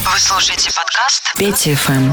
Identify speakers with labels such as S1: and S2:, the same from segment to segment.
S1: Вы слушаете подкаст Петя ФМ.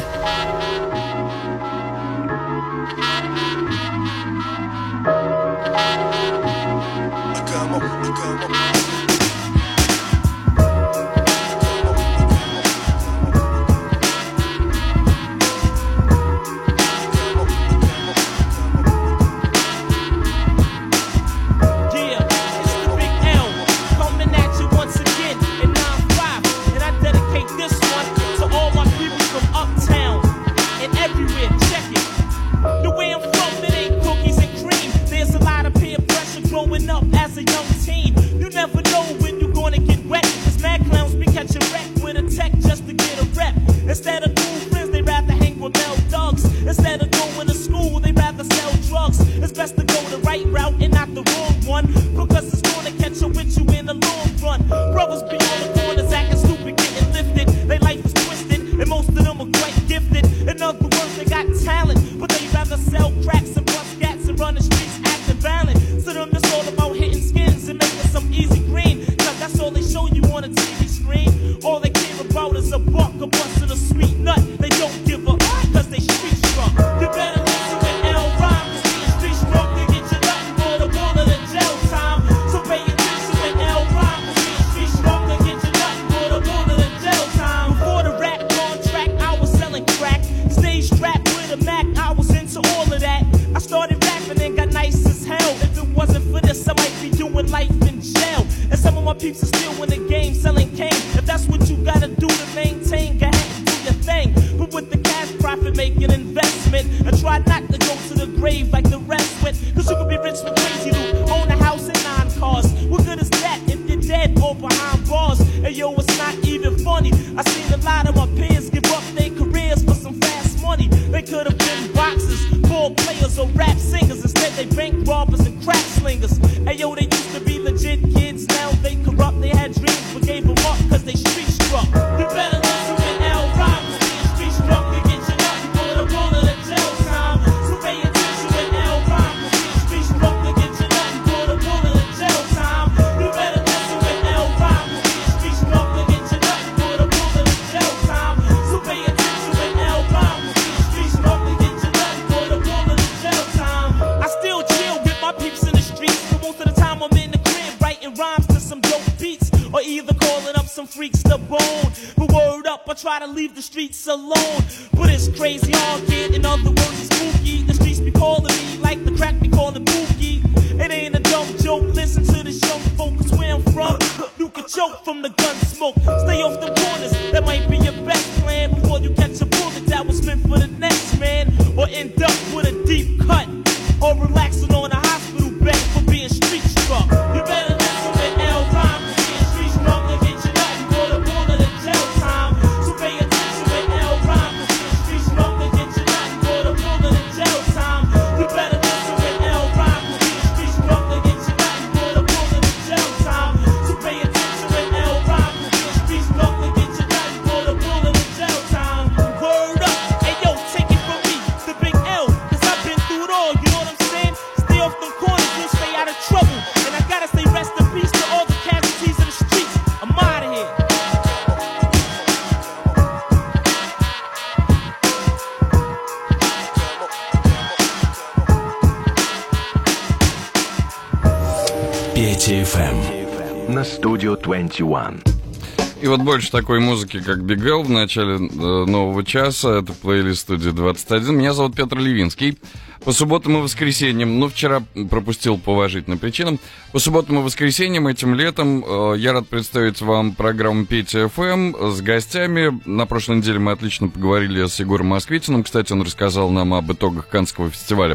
S2: На Studio 21.
S3: И вот больше такой музыки, как Big L в начале нового часа. Это плейлист студии 21. Меня зовут Петр Левинский. По субботам и воскресеньям, вчера пропустил по уважительным причинам. По субботам и воскресеньям этим летом я рад представить вам программу Петя ФМ с гостями. На прошлой неделе мы отлично поговорили с Егором Москвитиным. Кстати, он рассказал нам об итогах Каннского фестиваля.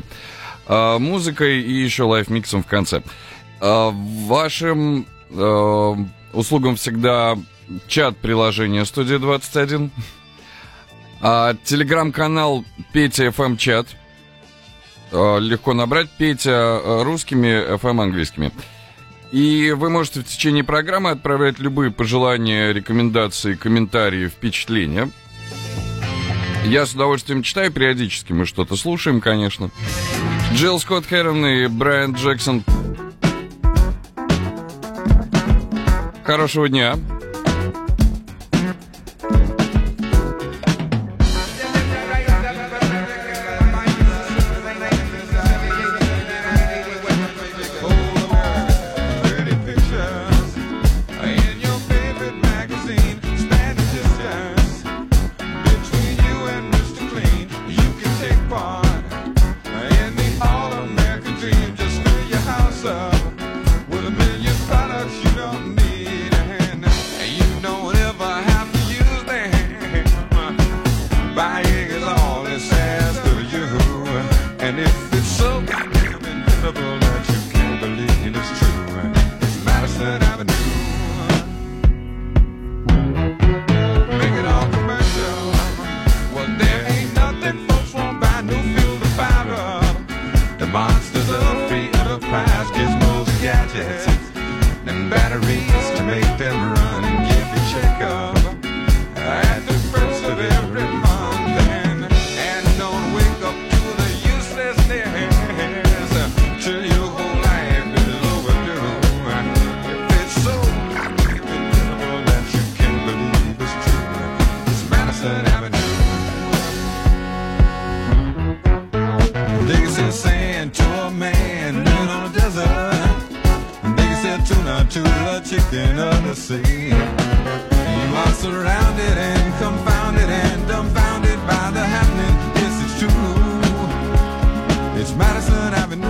S3: Музыкой и еще лайв-миксом в конце. Вашим услугам всегда чат приложения Студия 21, телеграм-канал Петя ФМ чат. Легко набрать Петя русскими, ФМ английскими. И вы можете в течение программы отправлять любые пожелания, рекомендации, комментарии, впечатления. Я с удовольствием читаю, периодически мы что-то слушаем, конечно. Джилл Скотт Херон и Брайан Джексон. Хорошего дня.
S4: chicken of the sea. You are surrounded and confounded and dumbfounded by the happening. Yes, it's true. It's Madison Avenue.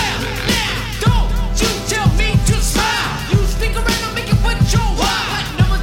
S5: Don't you tell me to smile. You stick around and make it what you want.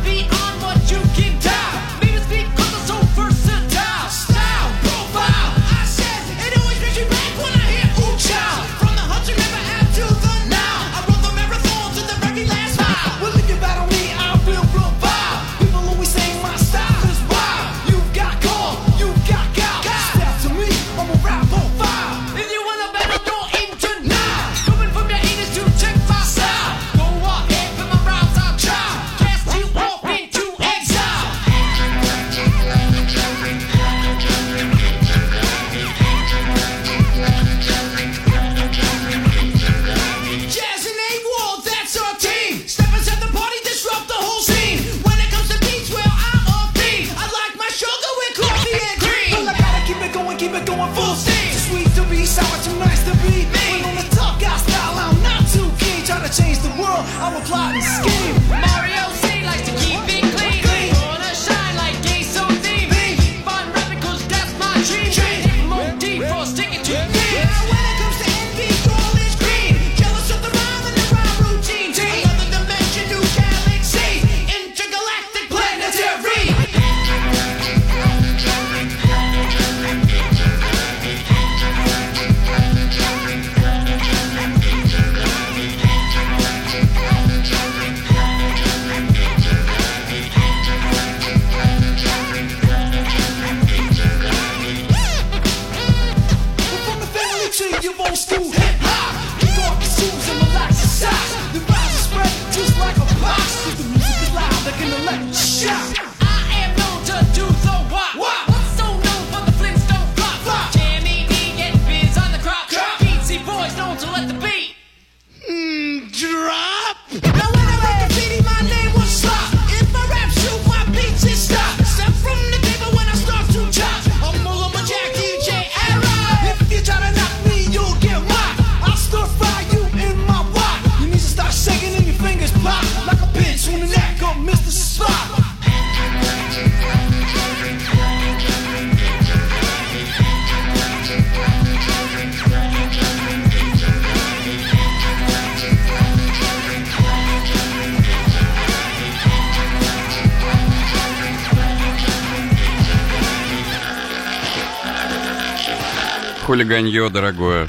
S3: хулиганье дорогое.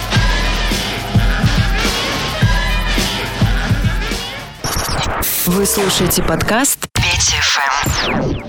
S1: Вы слушаете подкаст Петя ФМ.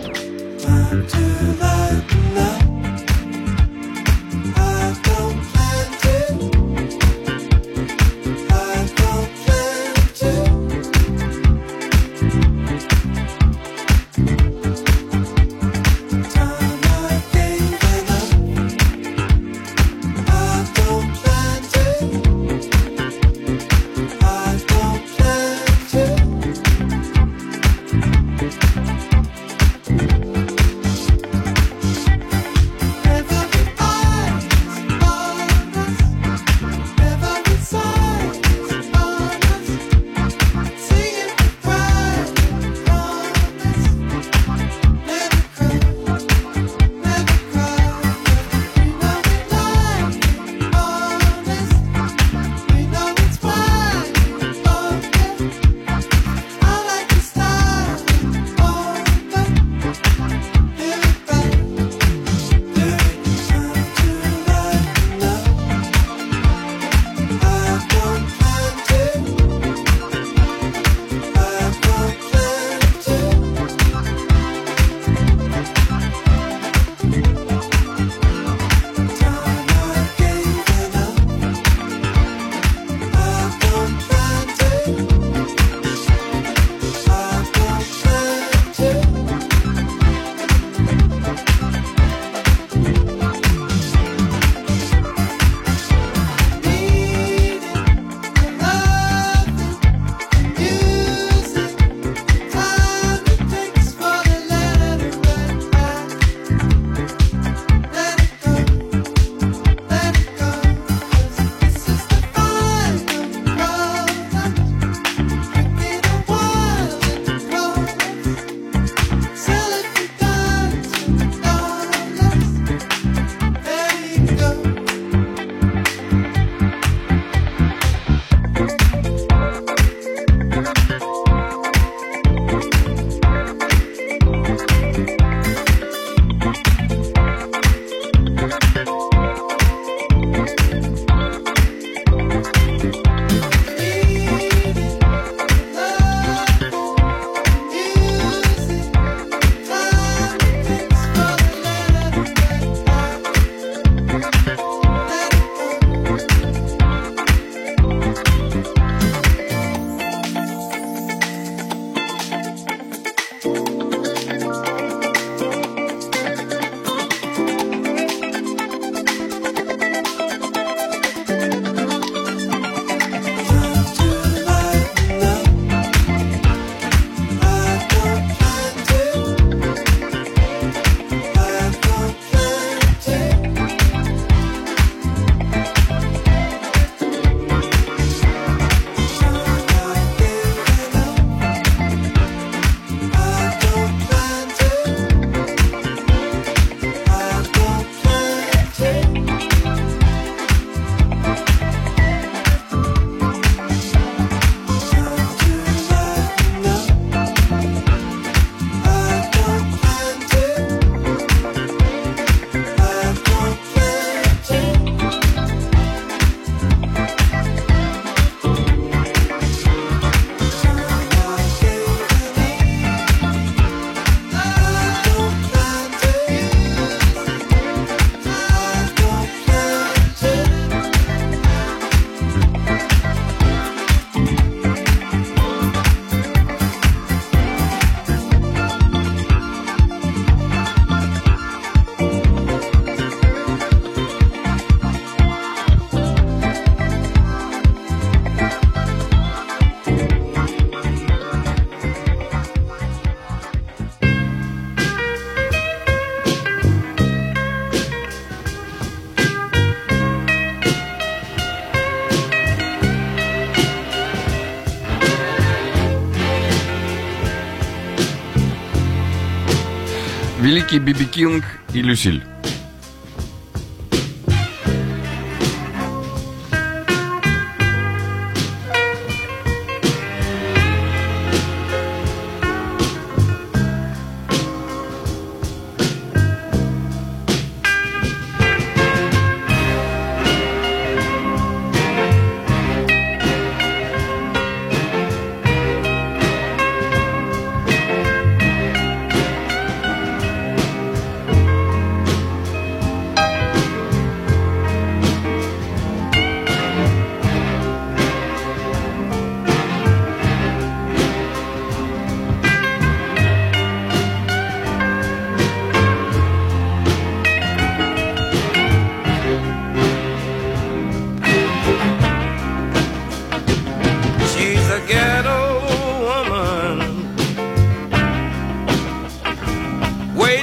S3: Великий Би-Би Кинг и Люсиль.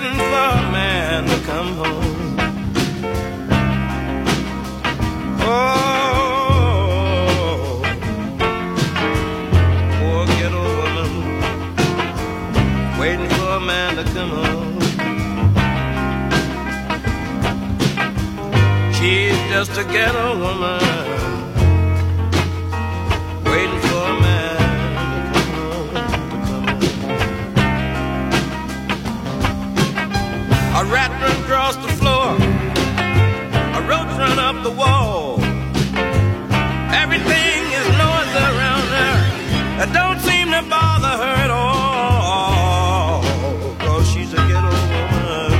S5: waiting for a man to come home. Oh, poor ghetto woman, waiting for a man to come home. She's just a ghetto woman, waiting for a man to come home. A rat run across the floor, a roach run up the wall. Everything is noise around her that don't seem to bother her at all. 'Cause she's a ghetto woman,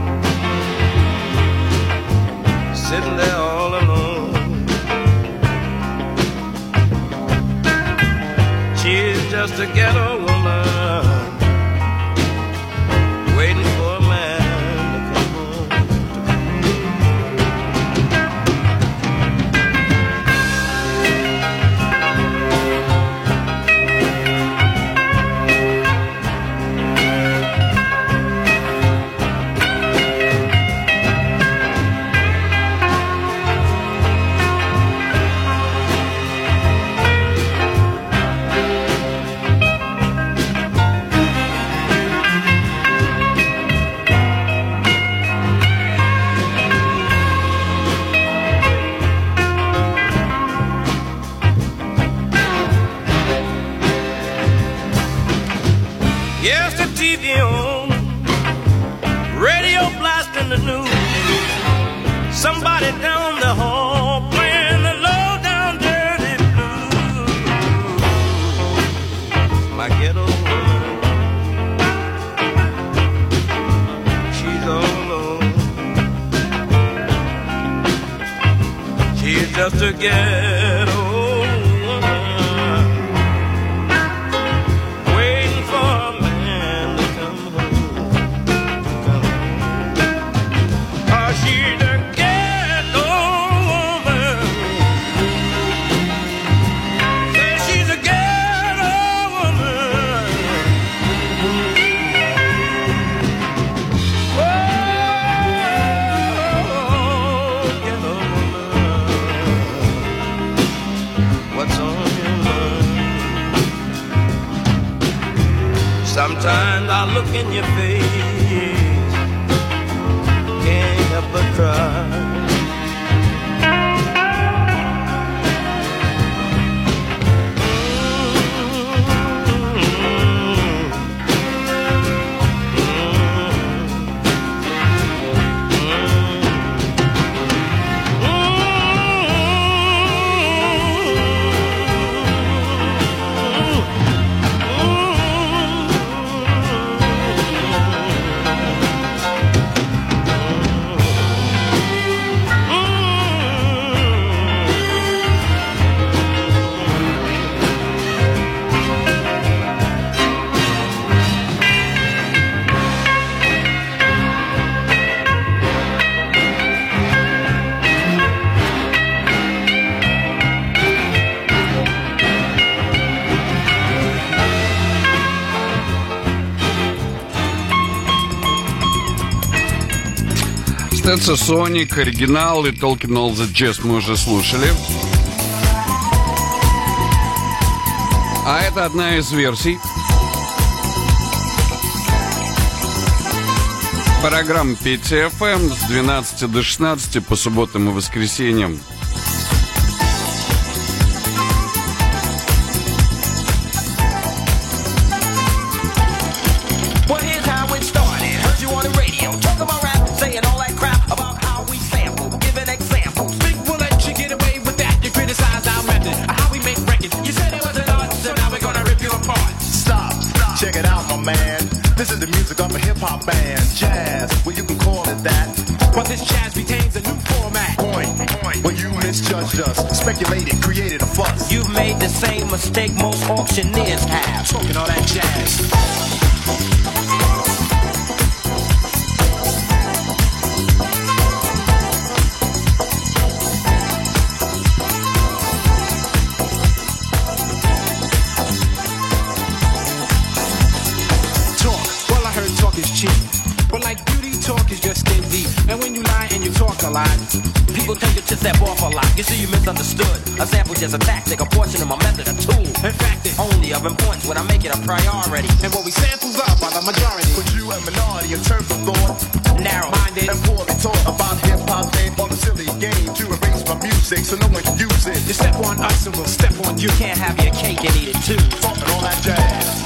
S5: sitting there all alone. She's just a ghetto woman, waiting for a man to come home. Yes, the TV on, radio blasting the news. Somebody down the hall playing the low down dirty blues. My ghetto woman, she's all alone. She's just a ghetto woman, waiting for a man to come home. Oh, she's a ghetto woman. Say she's a ghetto woman. Oh, ghetto woman, what's on your mind? Sometimes I look in your face, can't help but cry.
S3: Это Соник, оригинал и Talking All the Jazz мы уже слушали. А это одна из версий программы Петя ФМ с 12 до 16 по субботам и воскресеньям.
S6: This is the music of a hip-hop band, jazz, well you can call it that. But this jazz retains a new format. Point, well you misjudged us, speculated, created a fuss.
S5: You've made the same mistake most auctioneers have.
S6: Talking all that jazz.
S7: Talk, well I heard talk is cheap. But like People tell you to step off a lot. You see, you misunderstood. A sample just a tactic, a portion of my method, a tool. In fact, it's only of importance when I make it a priority.
S6: And what we samples up by the majority. Put you a minority in terms of thought.
S7: Narrow-minded
S6: and poorly taught about hip-hop ain't on the silly game to erase my music so no one can use it.
S7: You step on us and we'll step on you. Can't have your cake and eat it too.
S6: Talking all that jazz.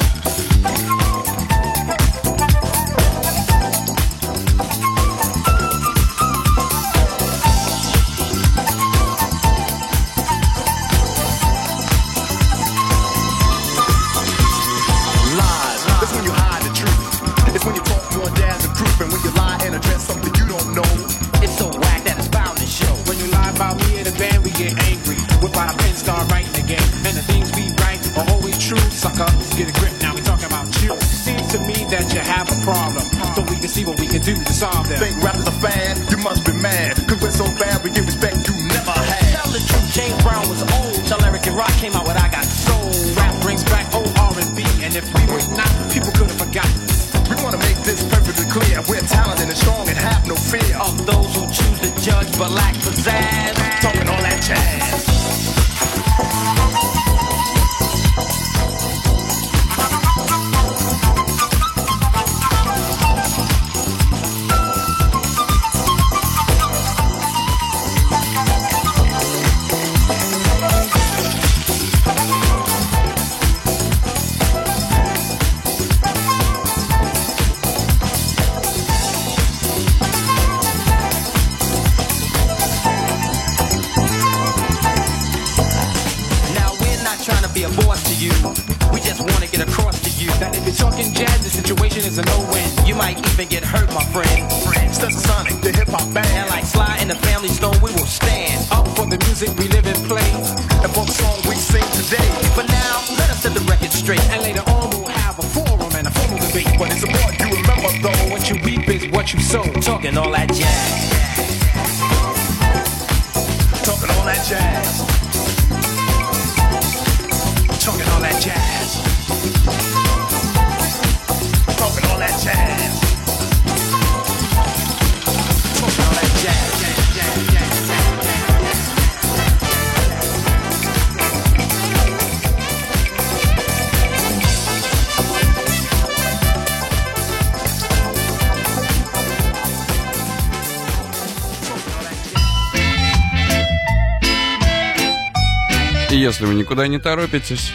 S8: Get a grip, now we talking about you. Seems to me that you have a problem, so we can see what we can do to solve them.
S6: Think rap is a fad? You must be mad, cause we're so bad we get respect you never had.
S7: Tell the truth, James Brown was old till Eric and Rock came out with I Got Soul.
S8: Rap brings back old R&B, and if we were not, people could have forgotten.
S6: We wanna make this perfectly clear. We're talented and strong and have no fear
S7: of those who choose to judge but lack pizzazz.
S6: Talking all that jazz.
S8: Is a no-win.
S7: You might even get hurt, my friend.
S6: Sonic, the hip-hop band.
S7: And like Sly and the Family Stone, we will stand
S8: up for the music we live and play,
S6: and for the song we sing today.
S7: But now, let us set the record straight,
S8: and later on we'll have a forum and a formal debate.
S6: But it's important you remember though,
S8: what you reap is what you sow.
S7: Talking all that jazz.
S6: Talking all that jazz.
S8: Talking all that jazz.
S6: Talking all that jazz.
S8: Talking all that jazz.
S3: И если вы никуда не торопитесь,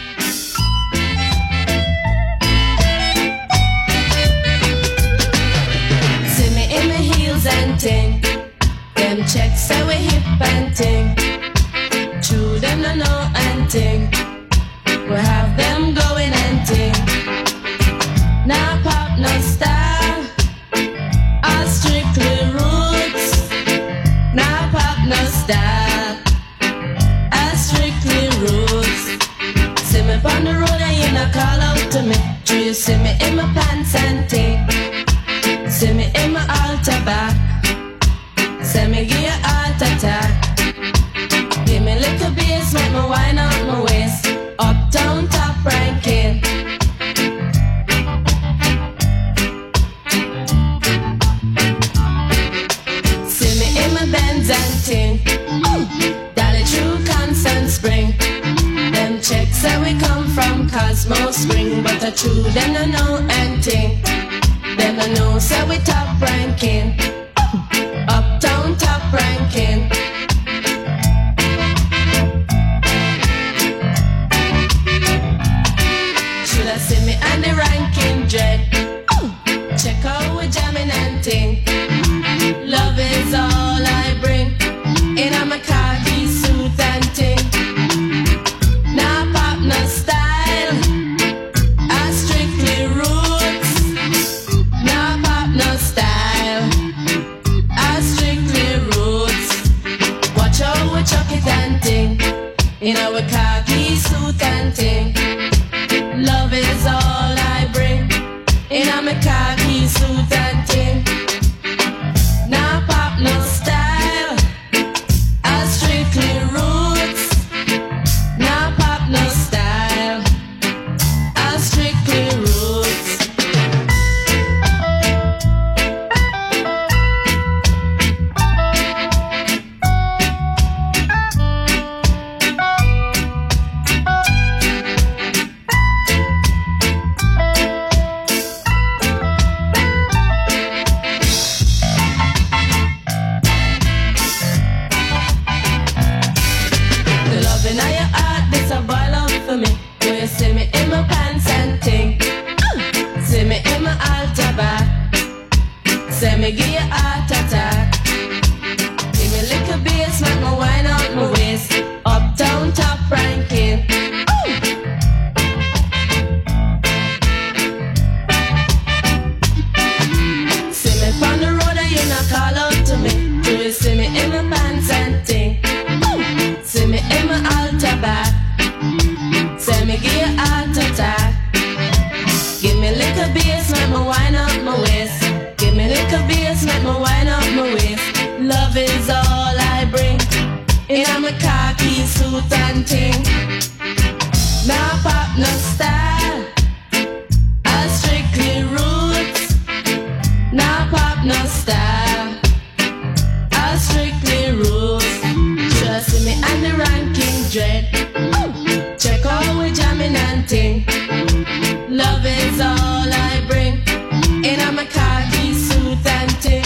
S9: ting. Them checks say we hip and ting. True them no know and ting. We have them going and ting. Now pop no style, all strictly roots. Now pop no style, all strictly roots. See me on the road and you not call out to me. Do you see me in my pants and ting? See me in my altar back. Say me give you heart attack. Give me little bass, make me wind up my waist. Uptown top ranking. See me in my Benz and ting. Dolly True Constant Spring. Them checks say we come from Cosmo Spring, but the true them no know and ting. Them no know say we top ranking. Uptown top ranking. Should I see me on the ranking dread? Check out we jamming and ting. Love is all I bring. In a my khaki suit and ting. Now pop no style, I strictly roots. Now pop no style, I strictly roots. Watch out we chuck it and ting. In our khaki suit and ting. Love is all I bring. In a my khaki suit and ting. Now pop no style, I strictly roots. Now pop no style, I strictly roots. Say me give you heart attack. Give me little bass, make me wind out my waist. Uptown top ranking. See me on the road and you not call out to me. Do you see me in my pants and ting? See me in my altar back. Say me give you heart attack. Give me little bass, make me wind up my waist. Give me little bass, make me wind up my waist. Love is all I bring. In my khaki suit and ting. Now pop no style. I strictly roots. Now pop no style. I strictly roots. Trust me and the ranking dread. Check out we jamming and ting. Love is all I bring. In my khaki suit and ting.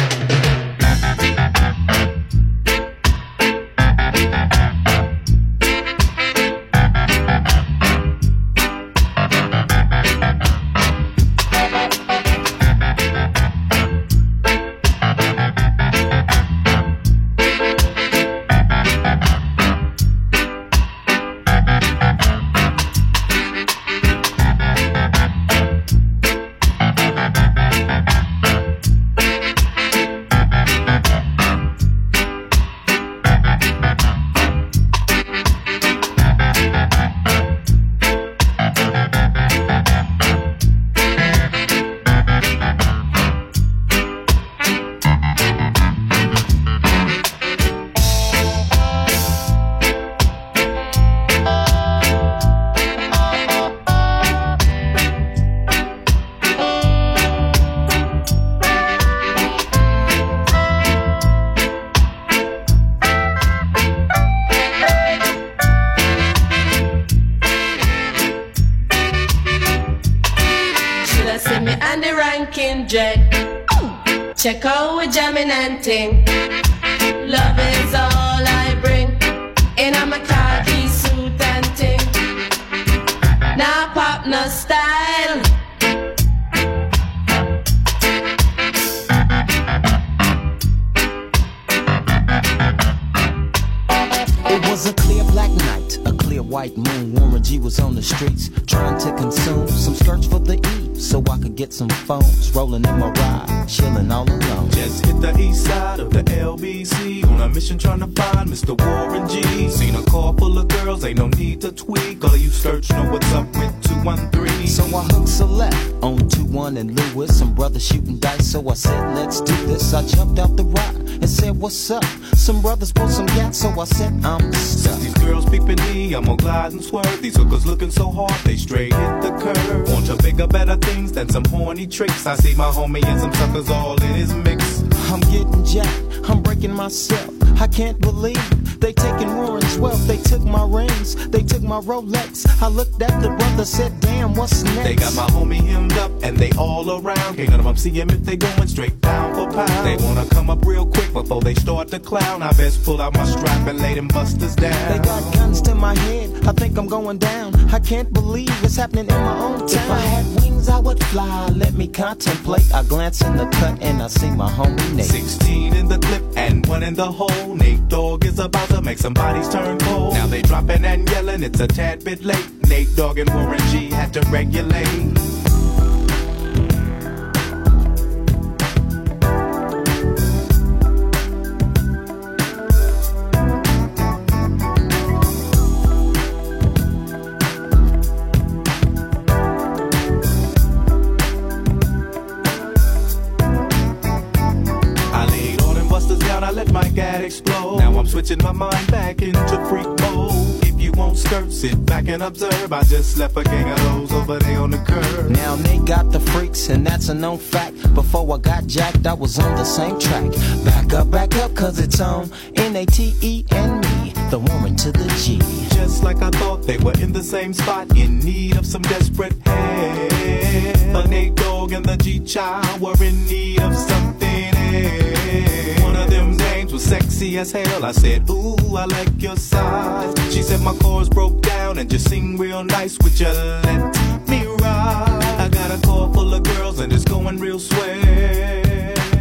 S9: Check out we jamming and ting. Love is all I bring. In my khaki suit and ting. Now pop no style.
S10: It was a clear black night, a clear white moon. Warren G was on the streets trying to consume some skirts for the E, so I could get some phones. Rolling in my ride, chilling all alone.
S11: Just hit the east side of the LBC on a mission trying to find Mr. Warren G. Seen a car full of girls, ain't no need to tweak. All of you search know what's up with 213.
S10: So I hooked a left on 21 and Lewis. Some brothers shooting dice, so I said, let's do this. I jumped out the ride and said, what's up? Some brothers pulled some gas, so I said, I'm stuck.
S11: These girls peeping me, I'm gonna glide and swerve. These hookers looking so hard, they straight hit the curve. Want to bigger, better things than some horny tricks. I see my homie and some suckers all in his mix.
S10: I'm getting jacked, I'm breaking myself. I can't believe they taking Warren's wealth. They took my rings, they took my Rolex. I looked at the brother, said, damn, what's next?
S11: They got my homie hemmed up and they all around. Can't none of them see him if they going straight pound for pound. They wanna come up real quick before they start to clown. I best pull out my strap and lay them busters down.
S10: They got guns to my head, I think I'm going down. I can't believe it's happening in my own town. If I had wings, I would fly, let me contemplate. I glance in the cut and I see my homie Nate.
S11: 16 in the clip and 1 in the hole. Nate Dogg is about to make some bodies turn cold. Now they dropping and yelling, it's a tad bit late. Nate Dogg and Warren G had to regulate. Explode. Now I'm switching my mind back into freak mode. If you won't skirt, sit back and observe. I just left a gang of those over there on the curb.
S10: Now they got the freaks and that's a known fact. Before I got jacked, I was on the same track. Back up, cause it's on N-A-T-E and me, the Warren to the G.
S11: Just like I thought, they were in the same spot, in need of some desperate help. The Nate Dogg and the G-Child were in need of something else. One of them dames was sexy as hell. I said, ooh, I like your size. She said my chords broke down and just sing real nice. Would you let me ride? I got a car full of girls and it's going real swell.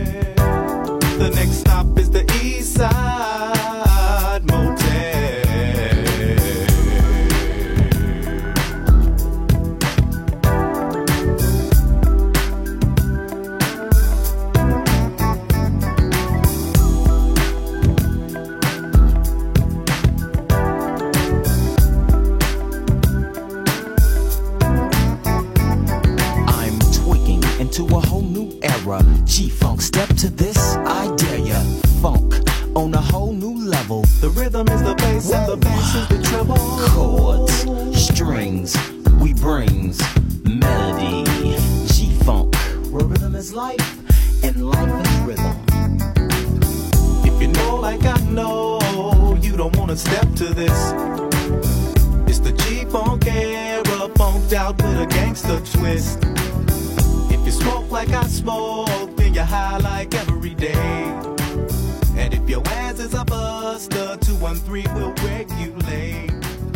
S10: new era. G-Funk, step to this, I dare ya. Funk on a whole new level.
S11: The rhythm is the bass and the bass is the treble.
S10: Chords, strings, we brings melody. G-Funk, where rhythm is life and life is rhythm.
S11: If you know like I know, you don't wanna step to this. It's the G-Funk era, funked out with a gangster twist. If you smoke like I smoke, then you're high like every day. And if your ass is a buster, 213 will regulate.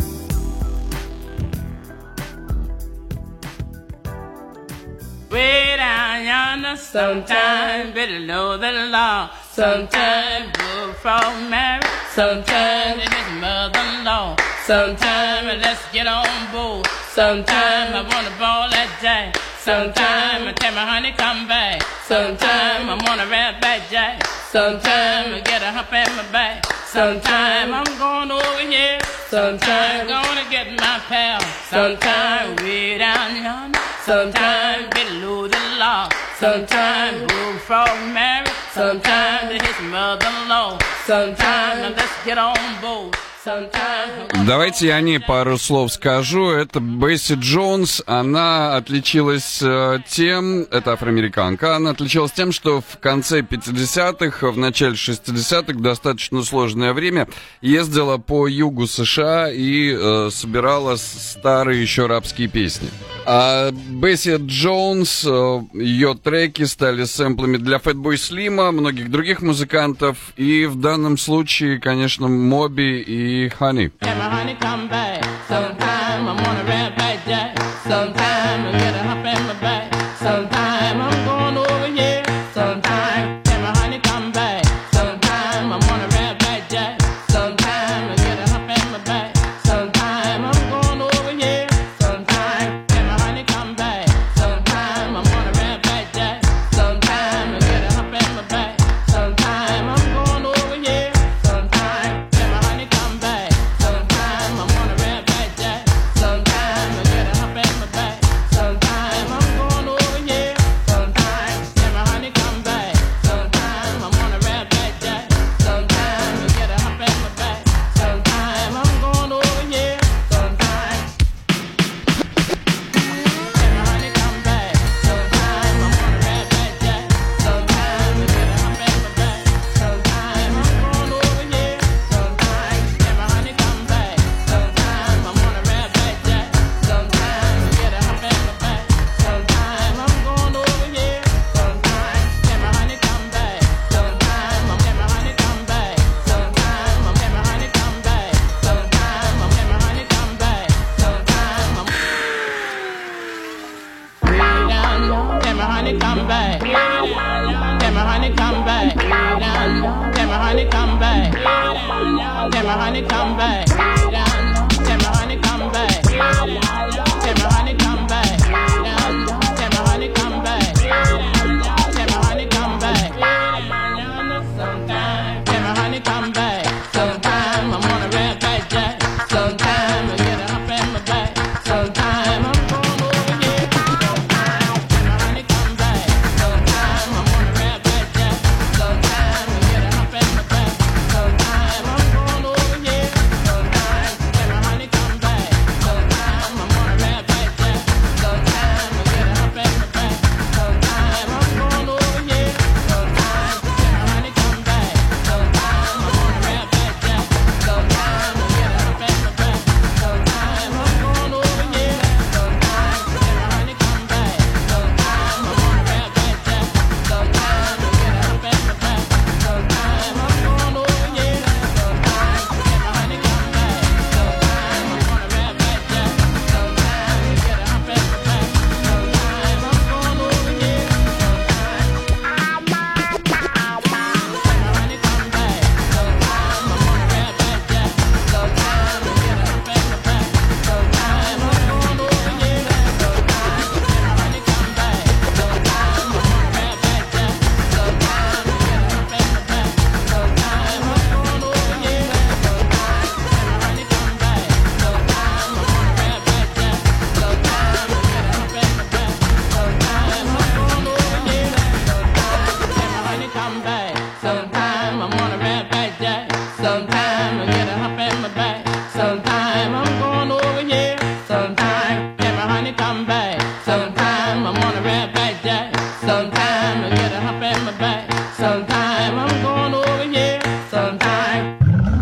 S12: Way down yonder, sometimes below the law. Sometimes bullfrog married, sometimes it is mother-in-law. Sometimes let's get on board. Sometimes I wanna ball that jack. Sometimes I tell my honey come back. Sometimes I wanna rap back jack. Sometimes I get a hump at my back. Sometimes I'm going over here. Sometimes I'm gonna get my pal. Sometimes way down yonder. Sometimes below the law. Sometimes bullfrog married. Sometimes it his mother-in-law. Sometimes let's get on board.
S3: Давайте я о ней пару слов скажу. Это Бесси Джонс. Она отличилась тем, это афроамериканка, она отличилась тем, что в конце 50-х, в начале 60-х, достаточно сложное время, ездила по югу США и собирала старые еще рабские песни. А Бесси Джонс, ее треки стали сэмплами для Fatboy Slim, многих других музыкантов, и в данном случае, конечно, Моби и Honey.
S12: get a hump in my back. Sometime I'm going over here. Sometime.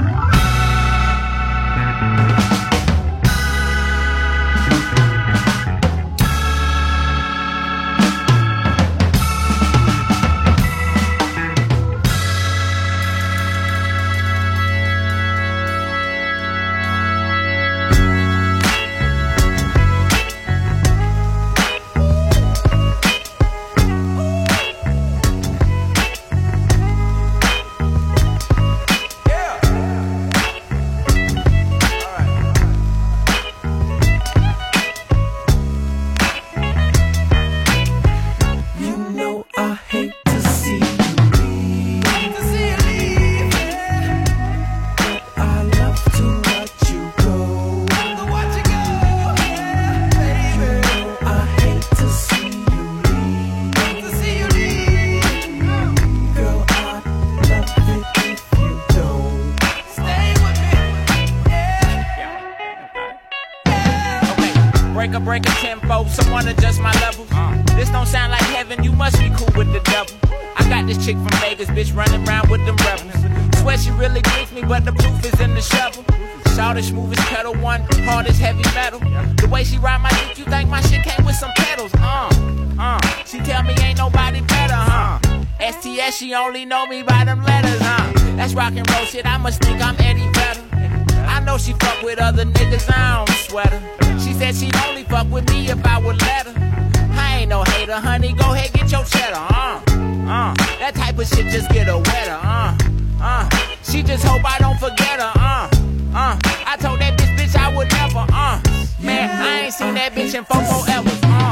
S13: Break a tempo, someone adjust my level. This don't sound like heaven, you must be cool with the devil. I got this chick from Vegas, bitch, running around with them rebels. Swear she really thinks me, but the proof is in the shovel. Shout as smooth as pedal one, hard as heavy metal. The way she ride my dick, you think my shit came with some pedals. She tell me ain't nobody better, STS, she only know me by them letters, That's rock and roll shit, I must think I'm Eddie Vedder. I know she fuck with other niggas, I don't sweat her. She said she'd only fuck with me if I would let her. I ain't no hater, honey, go ahead, get your cheddar, That type of shit just get her wetter, She just hope I don't forget her, I told that bitch I would never, Man, I ain't seen that bitch in 4 forever,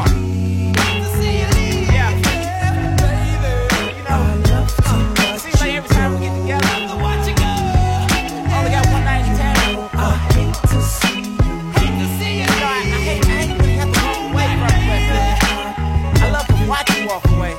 S13: Seems like every time we get together, only got one night in town. I hate to see you. I hate when you have to walk away from me. I love to watch you walk away.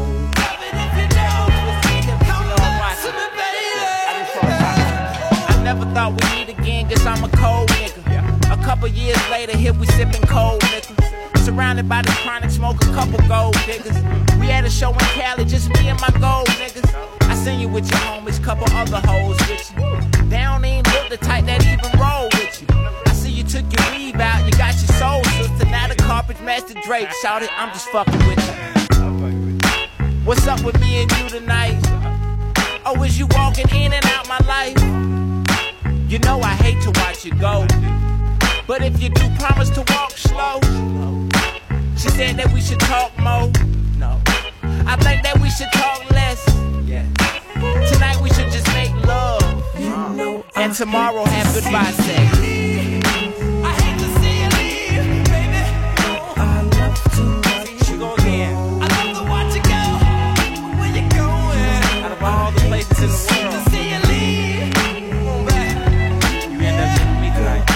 S13: I never thought we'd meet again, guess I'm a cold nigga. A couple years later, here we sipping cold liquor. Surrounded by this chronic smoke, a couple gold diggers. We had a show in Cali, just me and my gold niggas. I seen you with your homies, couple other hoes with you. They don't even look the type that even roll with you. I see you took your weave out, you got your soul sister. Now the carpet match the Drake. Shout it, I'm just fucking with you. What's up with me and you tonight? Oh, is you walking in and out my life? You know I hate to watch you go, but if you do promise to walk slow. She said that we should talk more. No, I think that we should talk less. Tonight we should just make love, and tomorrow have goodbye sex. I hate to see you leave, baby. I love to watch you go again. I love to watch you go. Where you going? Out of all the places in the world, to see you leave. Come on back. You end up with me tonight.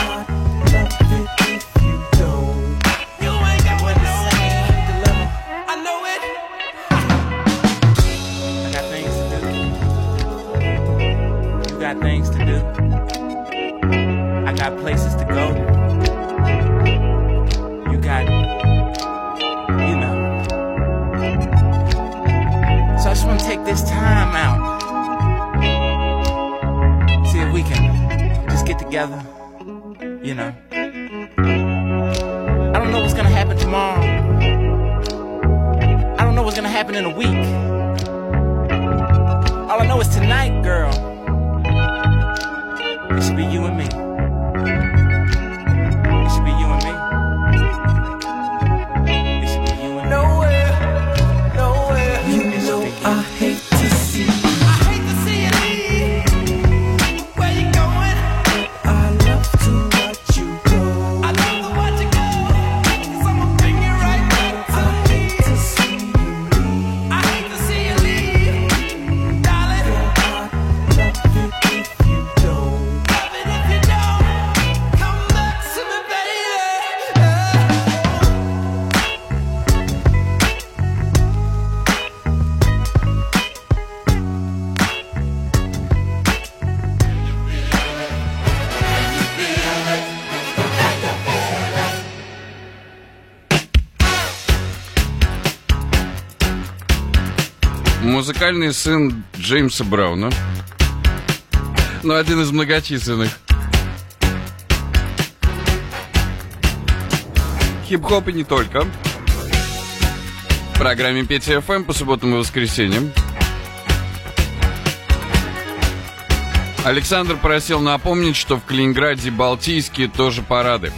S13: Got things to do. I got places to go. You got, you know. So I just want to take this time out. See if we can just get together. You know. I don't know what's gonna happen tomorrow. I don't know what's gonna happen in a week. All I know is tonight, girl. It should be you and me. It should be you and me. It should be you and me. Nowhere. You know I hate to see you. I hate to see you leave. Where you going? I love to watch you go. I love to watch you go. 'Cause I'ma bring you right back to me. I hate to see you leave. I hate to see you leave. Darling, I love it if you don't.
S3: Музыкальный сын Джеймса Брауна. Ну, один из многочисленных. Хип-хоп и не только. В программе Петя ФМ по субботам и воскресеньям. Александр просил напомнить, что в Калининграде Балтийские тоже парады.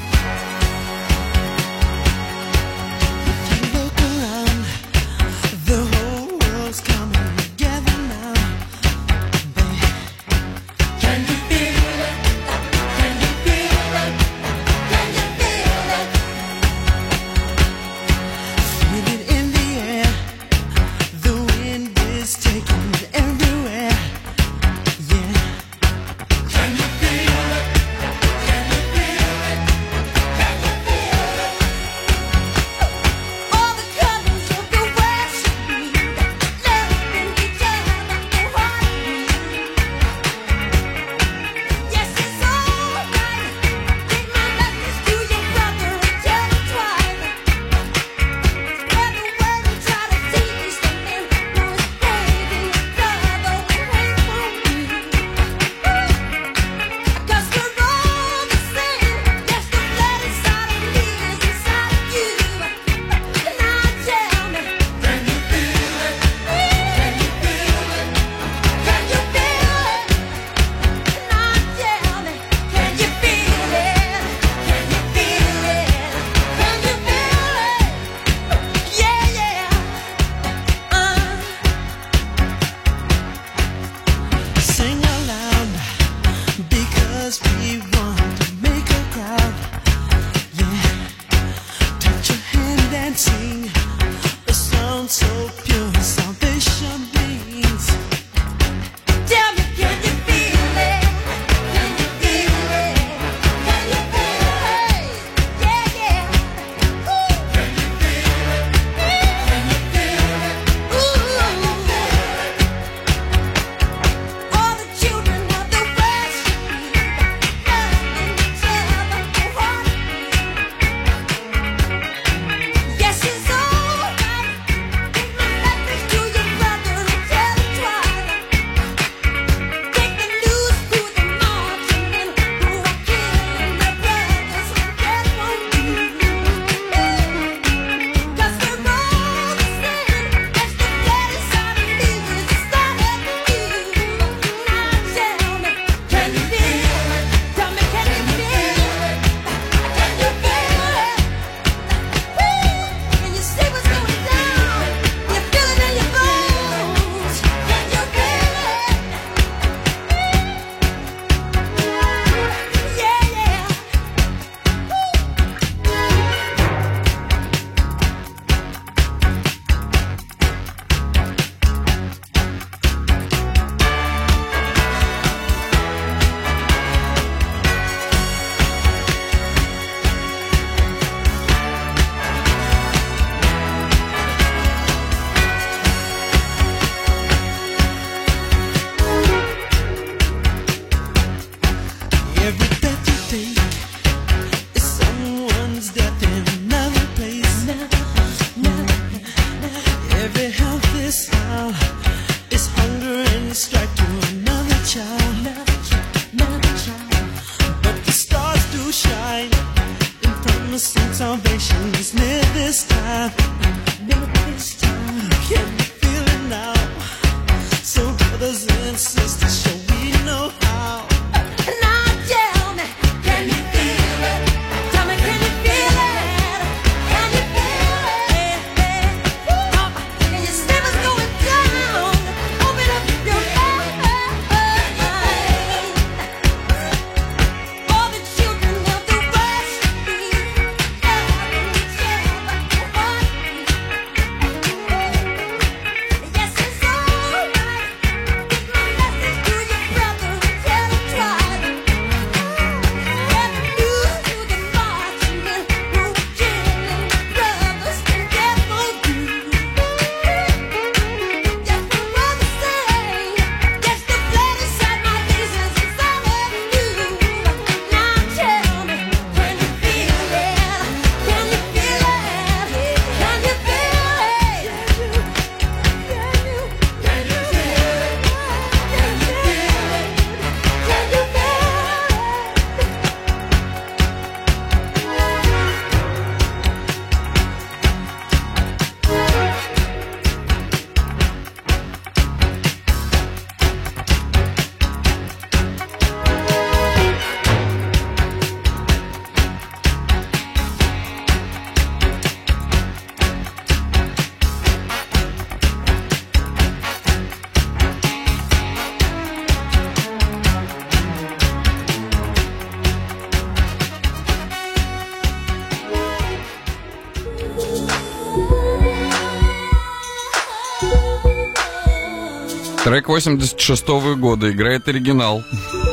S3: Трек 86-го года, играет оригинал.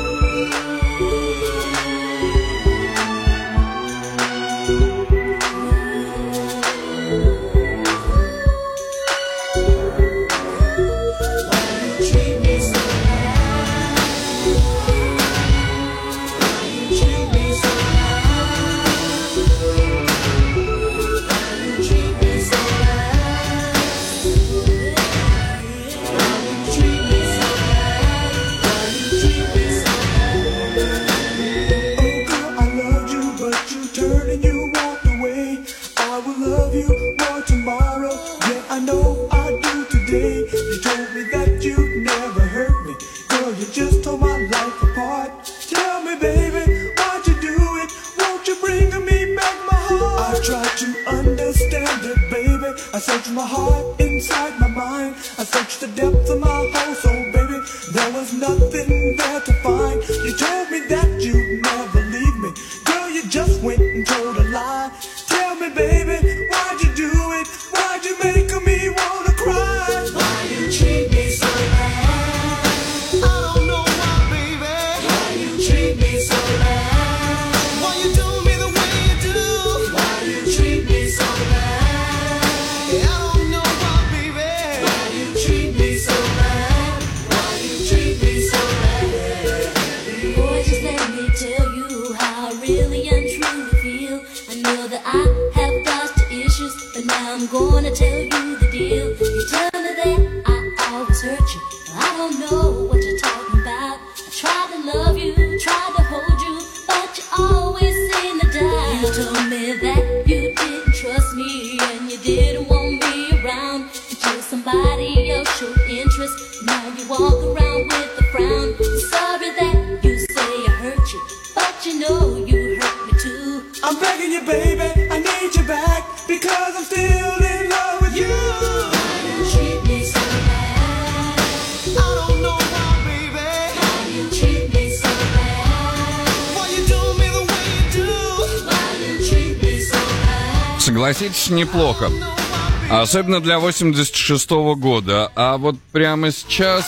S3: Согласитесь, неплохо. Особенно для 86-го года. А вот прямо сейчас...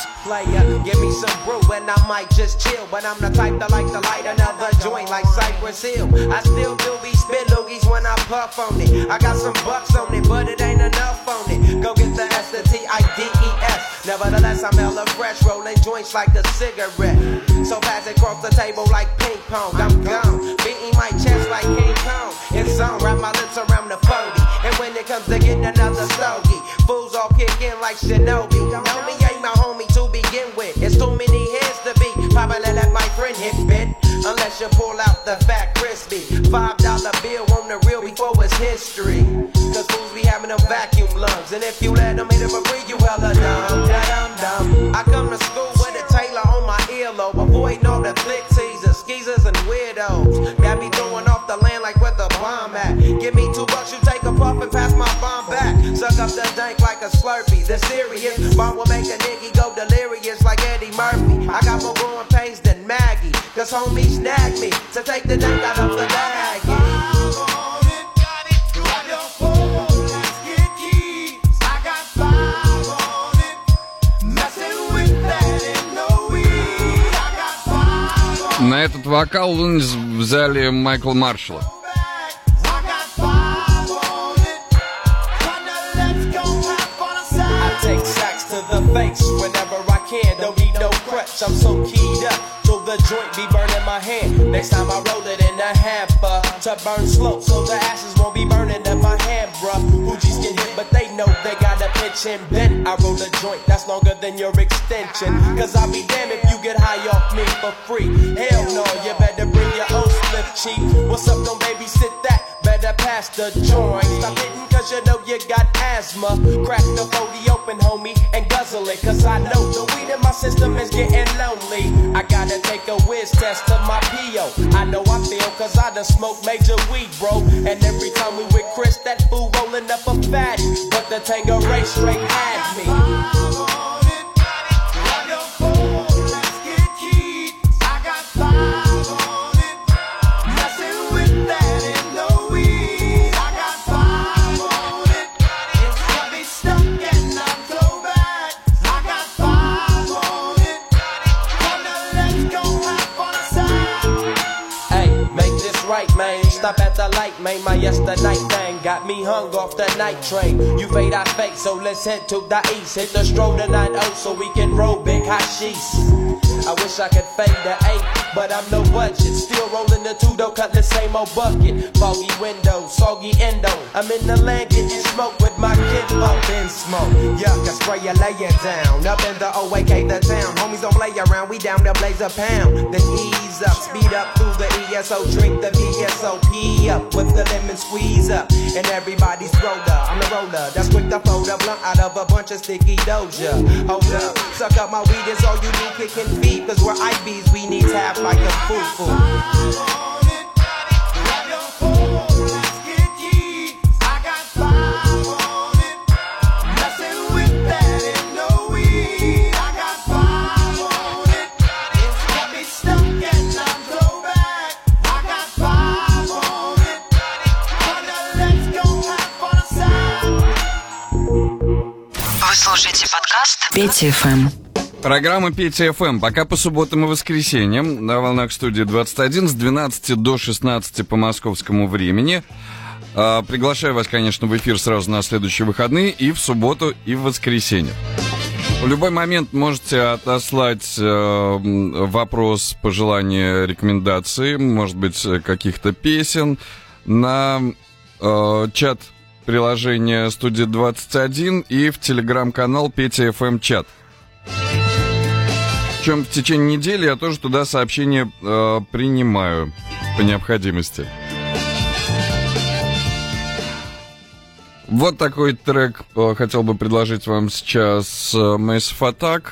S14: Nevertheless, I'm hella fresh, rolling joints like a cigarette. So fast across the table like ping pong. I'm gone, beating my chest like King Kong. It's on, wrap my lips around the 40. And when it comes to getting another stogie, fools all kick in like Shinobi. Homie ain't my homie to begin with. It's too many heads to be. Probably let my friend hit bit. Unless you pull out the fat crispy $5 bill on the real before it's history. Cause fools be having them vacuum lungs. And if you let them hit it for free, you hella dumb. I come to school with a Taylor on my earlobe, avoiding all the click teasers, skeezers, and weirdos that be throwing off the land like where the bomb at. Give me $2, you take a puff and pass my bomb back. Suck up the dank like a Slurpee. The serious bomb will make a nigga go delirious like Eddie Murphy. I got more growing pains than Maggie, cause homie snagged me to take the dank out of the baggie.
S3: На этот вокал взяли Майкла Маршалла.
S14: Take sacks to the face whenever I can. Don't need no crutch, I'm so keyed up. So the joint be burning my hand. Next time I roll it in a hamper to burn slow, so the ashes won't be burning in my hand, bruh. Hoogies get hit, but they know they got a pitch and bent. I roll a joint that's longer than your extension. Cause I'll be damned if you get high off me for free. Hell no, you better bring your own slip cheap. What's up, don't babysit that? Better pass the joint. Stop hitting cause you know you got asthma. Crack the 40 open, homie, and guzzle it. Cause I know the weed in my system is getting lonely. I gotta take a whiz test to my P.O. I know I feel cause I done smoked major weed, bro. And every time we with Chris, that fool rolling up a fatty. But the Tangeray straight had me. right, man. Stop at the light, man. My yesterday thing got me hung off the night train. You fade, I fake, so let's head to the east. Hit the stroll to 9-0 so we can roll big hashish. I wish I could fade the 8, but I'm no budget. Still rolling the 2 though, cut the same old bucket. Foggy window, soggy endo. I'm in the land getting smoke with my kid.
S15: Up in smoke, yuck, I spray you, lay it down. Up in the OAK, the town. Homies don't play around, we down to blaze a pound. Then ease up, speed up through the ESO. Drink the VSOP up with the lemon squeeze up. And everybody's roller, I'm the roller. That's quick to fold a blunt out of a bunch of sticky doja. Hold up, suck up my weed, is all you do, kicking feet. Cause we're IBs, we need tap like a foo-foo.
S1: Вы слушаете подкаст Петя ФМ.
S3: Программа Петя ФМ. Пока по субботам и воскресеньям на волнах студии 21 с 12 до 16 по московскому времени. Приглашаю вас, конечно, в эфир сразу на следующие выходные и в субботу, и в воскресенье. В любой момент можете отослать вопрос, пожелания, рекомендации, может быть, каких-то песен на чат приложение «Студия 21» и в телеграм-канал «Петя ФМ Чат». Причем в течение недели я тоже туда сообщения принимаю по необходимости. Вот такой трек хотел бы предложить вам сейчас Massive Attack.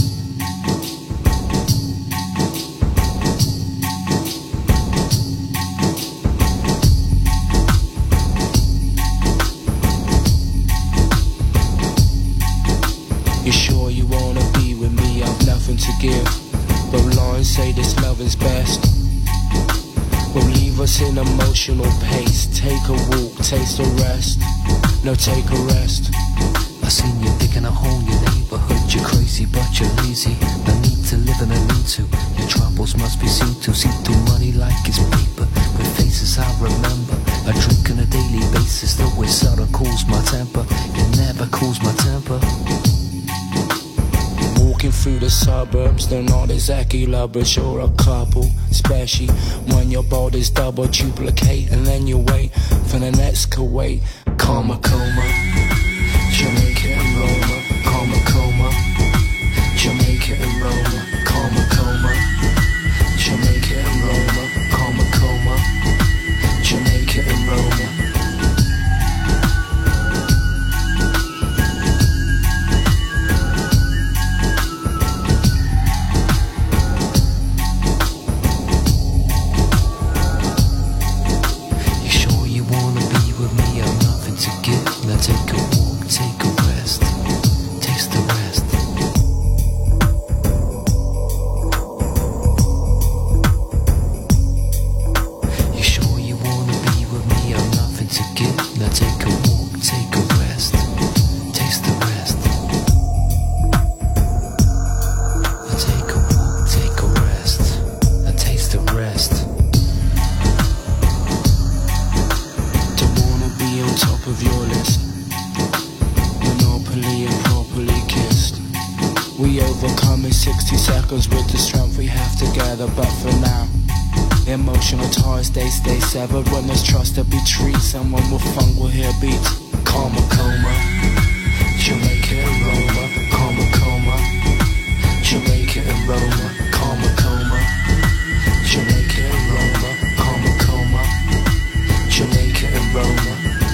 S16: You sure you wanna be with me? I've nothing to give, but lines say this love is best. Will leave us in emotional pace. Take a walk, taste a rest. No, take a rest.
S17: I seen you digging a hole in your neighborhood. You're crazy, but you're lazy. No need to live and I need to. Your troubles must be seen to. See through money like it's paper. With faces I remember. I drink on a daily basis. Though it seldom cools my temper. It never cools my temper.
S16: Walking through the suburbs, they're not exactly lovers, you're a couple. Especially when your body's double duplicate. And then you wait for the next Kuwait. Karma coma, Jamaica and Roma. Karma coma, Jamaica and Roma. Karma coma, Jamaica and Roma. Karma coma, Jamaica and Roma.
S17: Take a walk, take a rest, taste the rest. You sure you wanna be with me? I'm nothing to give. Now take a walk, take a rest, taste the rest. Now take a walk, take a rest, and taste the rest. Don't wanna be on top of your list. And properly kissed. We overcome in 60 seconds with the strength we have together. But for now, emotional ties, they stay severed. When there's trust to be treated, someone with funk will hear beats. Karma coma, Jamaica and Roma. Karma coma, Jamaica and Roma. Karma coma, Jamaica and Roma. Karma coma, Jamaica and Roma.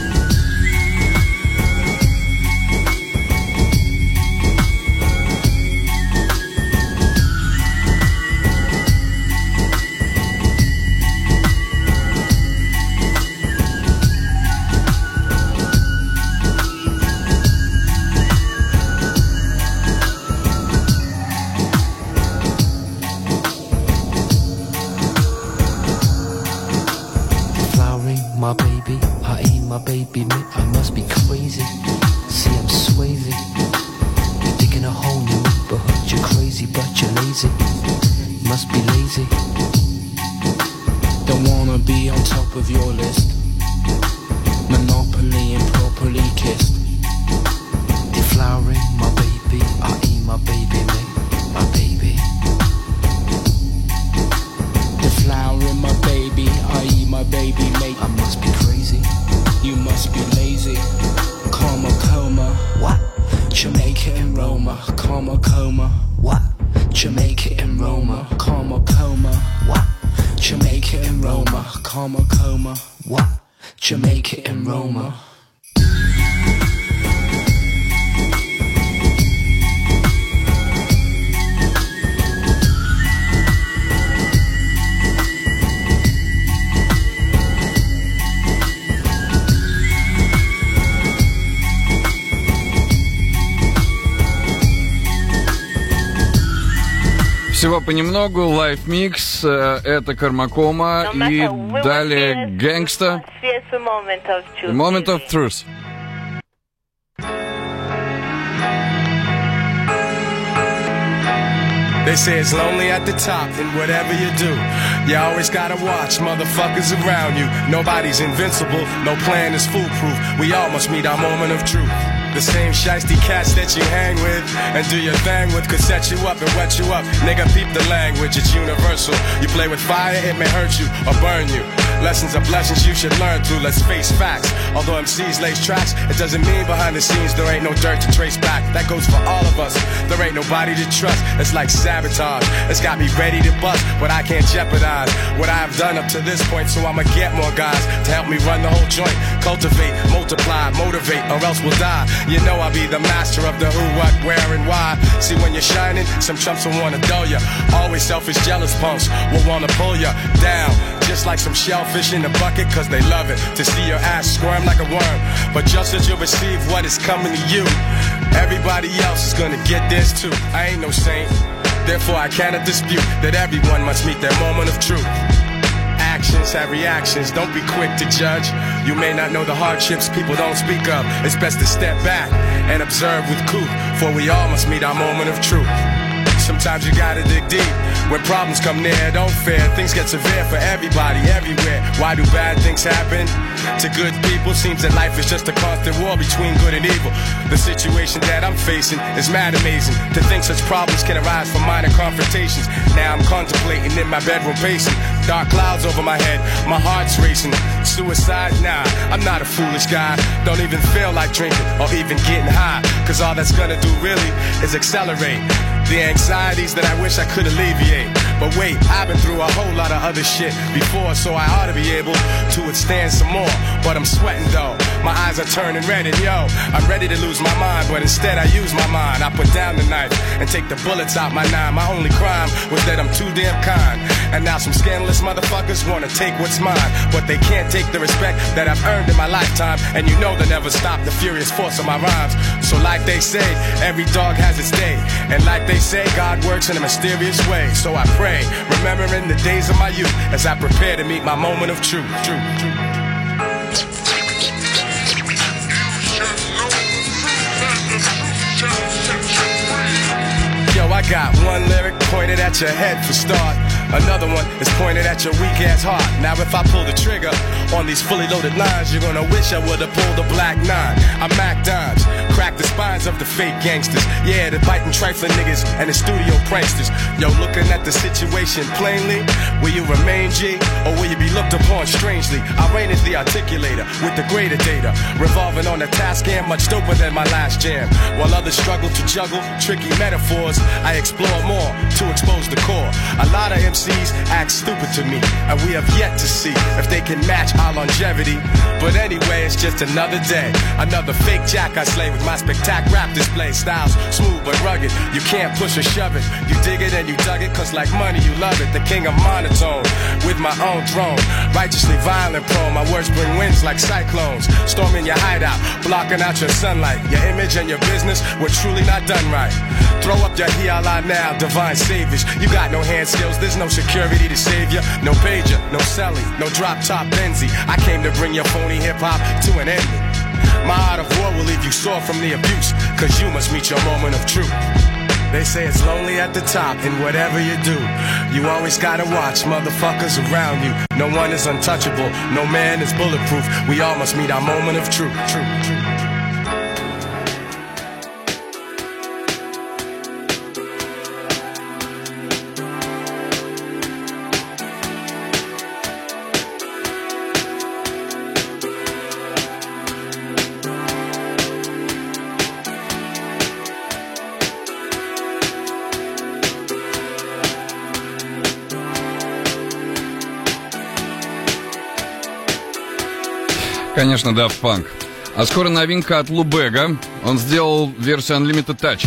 S17: My baby, I ain't my baby, man, I must be crazy. See, I'm swayzy. You're digging a hole in your neighborhood. You're crazy, but you're lazy. Must be lazy.
S16: Don't wanna be on top of your list. Monopoly improperly kissed.
S10: Deflowering my baby, I eat my baby, mate, my baby.
S16: Deflowering my baby, I eat my baby, mate.
S10: I must be crazy.
S16: You must be lazy. Coma, coma.
S10: What?
S16: Jamaica and Roma. Coma, coma.
S10: What?
S16: Jamaica and Roma. Coma, coma.
S10: What?
S16: Jamaica and Roma. Coma, coma.
S10: What?
S16: Jamaica and Roma.
S3: Всего понемногу, Live Mix, это Кармакома, и далее Гэнгста, Moment of Truth.
S18: They say it's lonely at the top, and whatever you do, you always gotta watch motherfuckers around you. Nobody's invincible, no plan is foolproof. We all must meet our moment of truth. The same shiesty cats that you hang with and do your thing with could set you up and wet you up. Nigga, peep the language, it's universal. You play with fire, it may hurt you or burn you. Lessons are blessings you should learn through, let's face facts. Although MCs lace tracks, it doesn't mean behind the scenes there ain't no dirt to trace back. That goes for all of us, there ain't nobody to trust. It's like sabotage, it's got me ready to bust, but I can't jeopardize what I've done up to this point. So I'ma get more guys to help me run the whole joint. Cultivate, multiply, motivate, or else we'll die. You know I'll be the master of the who, what, where, and why. See, when you're shining, some chumps will wanna dull ya. Always selfish, jealous punks will wanna pull ya down, just like some shellfish in the bucket, cause they love it to see your ass squirm like a worm. But just as you receive what is coming to you, everybody else is gonna get this too. I ain't no saint, therefore I cannot dispute that everyone must meet their moment of truth. Actions have reactions, don't be quick to judge. You may not know the hardships people don't speak of. It's best to step back and observe with cool, for we all must meet our moment of truth. Sometimes you gotta dig deep. When problems come near, don't fear. Things get severe for everybody, everywhere. Why do bad things happen to good people? Seems that life is just a constant war between good and evil. The situation that I'm facing is mad amazing. To think such problems can arise from minor confrontations. Now I'm contemplating in my bedroom pacing. Dark clouds over my head, my heart's racing. Suicide? Nah, I'm not a foolish guy. Don't even feel like drinking or even getting high, cause all that's gonna do really is accelerate the anxieties that I wish I could alleviate. But wait, I've been through a whole lot of other shit before, so I ought to be able to withstand some more. But I'm sweating though, my eyes are turning red, and yo, I'm ready to lose my mind, but instead I use my mind. I put down the knife and take the bullets out my nine. My only crime was that I'm too damn kind, and now some scandalous motherfuckers wanna take what's mine, but they can't take the respect that I've earned in my lifetime. And you know they'll never stop the furious force of my rhymes. So like they say, every dog has its day, and like they say, God works in a mysterious way. So I pray, remembering the days of my youth as I prepare to meet my moment of truth. Yo, I got one lyric pointed at your head for start. Another one is pointed at your weak ass heart. Now if I pull the trigger on these fully loaded lines, you're gonna wish I would've pulled a black 9. I Mac dimes, crack the spines of the fake gangsters. Yeah, the biting trifling niggas and the studio pranksters. Yo, looking at the situation plainly, will you remain G, or will you be looked upon strangely? I reign as the articulator with the greater data, revolving on a task and much doper than my last jam. While others struggle to juggle tricky metaphors, I explore more to expose the core. A lot of MCs act stupid to me, and we have yet to see if they can match our longevity. But anyway, it's just another day, another fake jack I slay with my spectac rap display. Styles smooth but rugged, you can't push or shove it. You dig it and you dug it, cause like money you love it. The king of monotone, with my own throne, righteously violent prone. My words bring winds like cyclones, storming your hideout, blocking out your sunlight. Your image and your business were truly not done right. Throw up your hiala now, divine saviors. You got no hand skills, there's no security to save you. No pager, no celly, no drop top Benzie. I came to bring your phony hip-hop to an end. My art of war will leave you sore from the abuse, cause you must meet your moment of truth. They say it's lonely at the top, and whatever you do, you always gotta watch motherfuckers around you. No one is untouchable, no man is bulletproof. We all must meet our moment of truth.
S3: Конечно, Daft Punk. А скоро новинка от Лубега. Он сделал версию Unlimited Touch.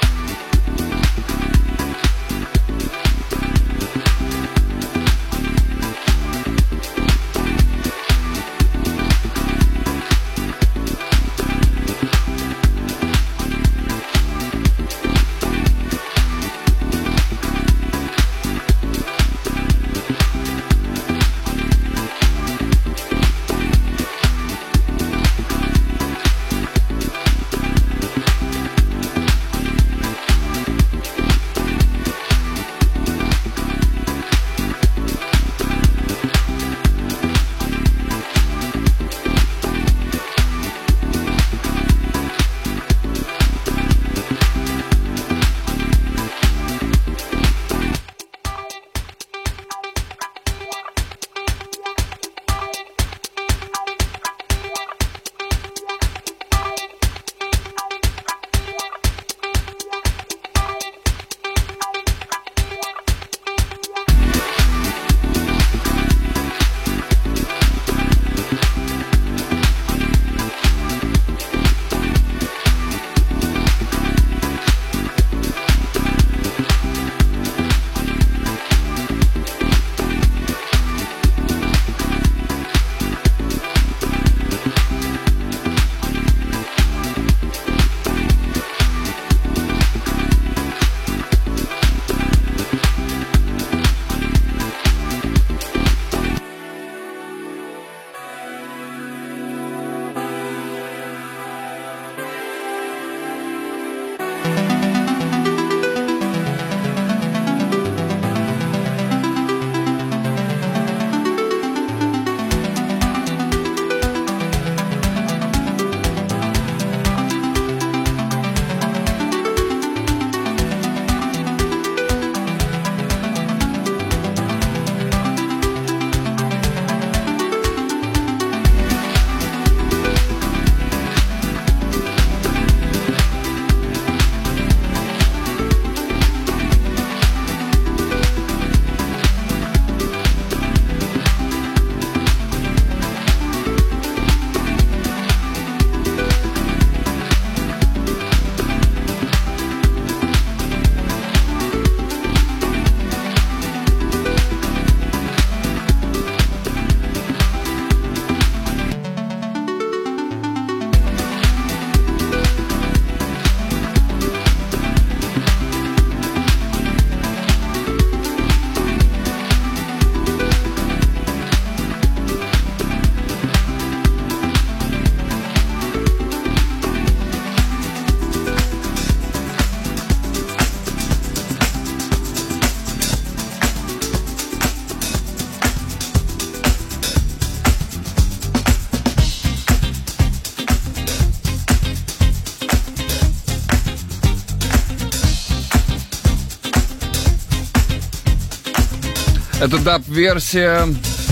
S3: Это даб-версия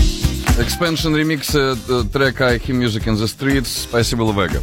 S3: Expansion ремикса трека I Hear Music in the Streets. Спасибо, Лубега.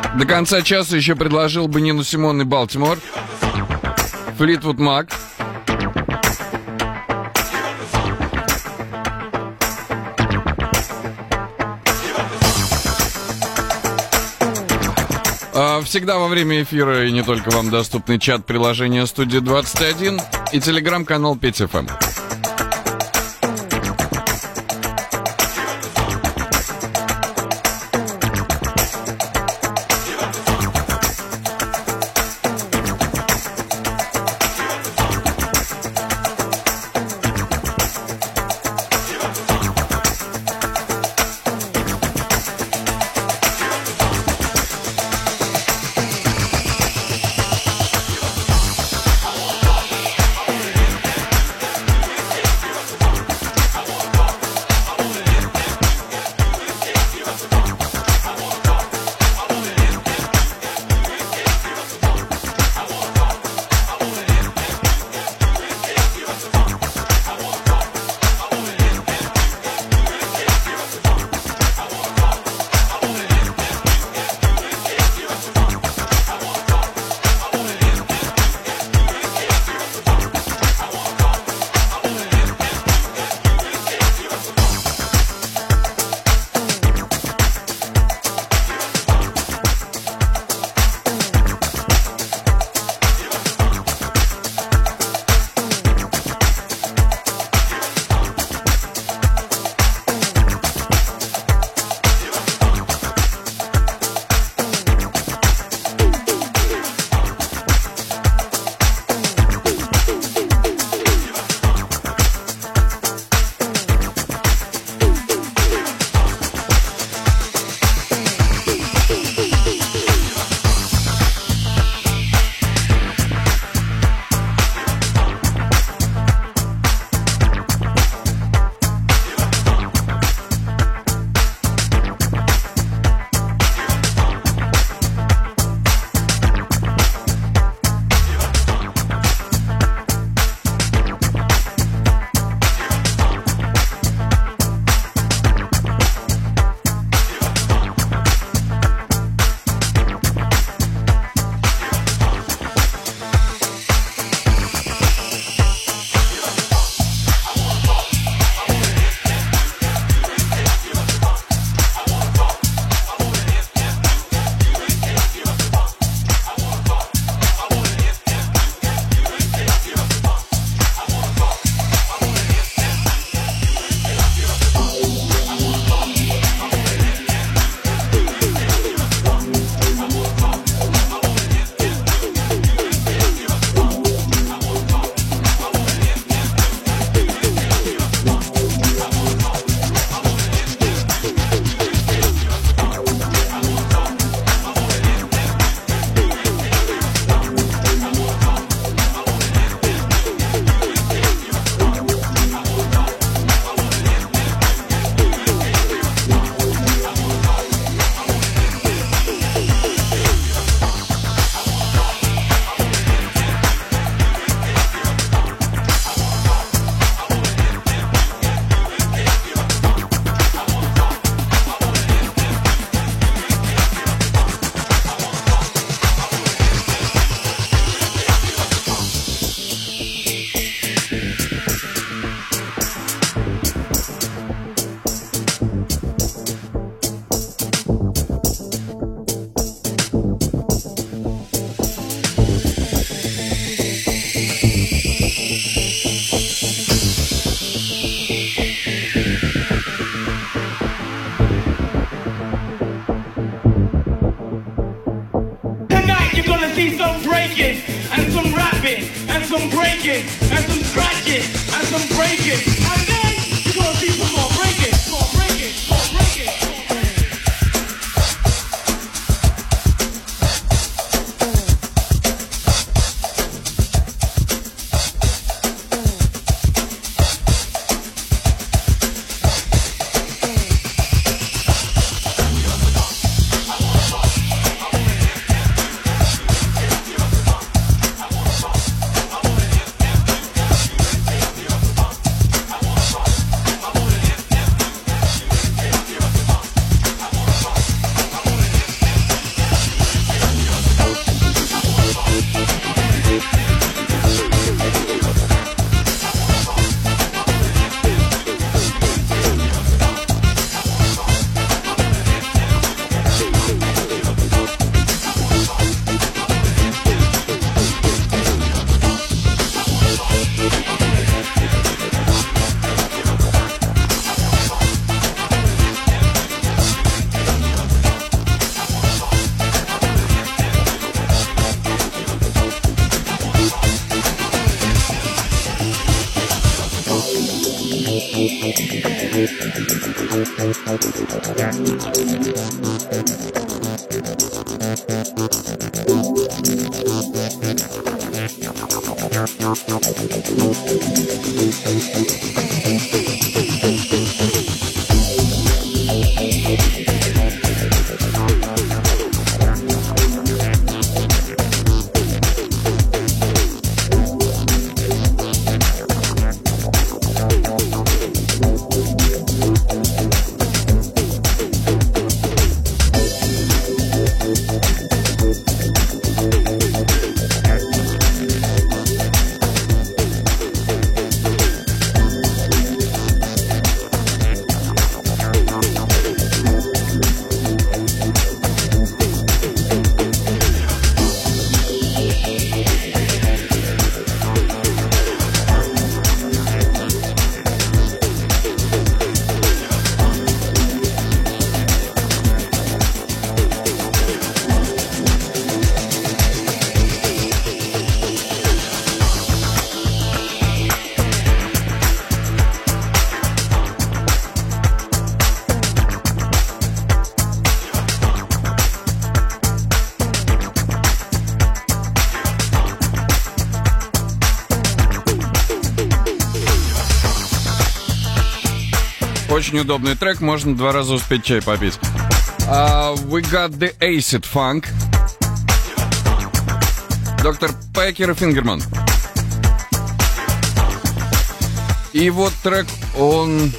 S3: До конца часа еще предложил бы Нину Симон и Балтимор. Флитвуд Мак. Всегда во время эфира и не только вам доступный чат приложения «Студия 21» и телеграм-канал Петя ФМ.
S5: see some breaking, and some rapping, and some breaking, and some scratching, and some breaking. And then you're gonna see some more breaking, more breaking, more breaking.
S3: Очень удобный трек, можно 2 раза успеть чай попить. We got the acid funk. Доктор Пекер и Фингерман. И вот трек, он...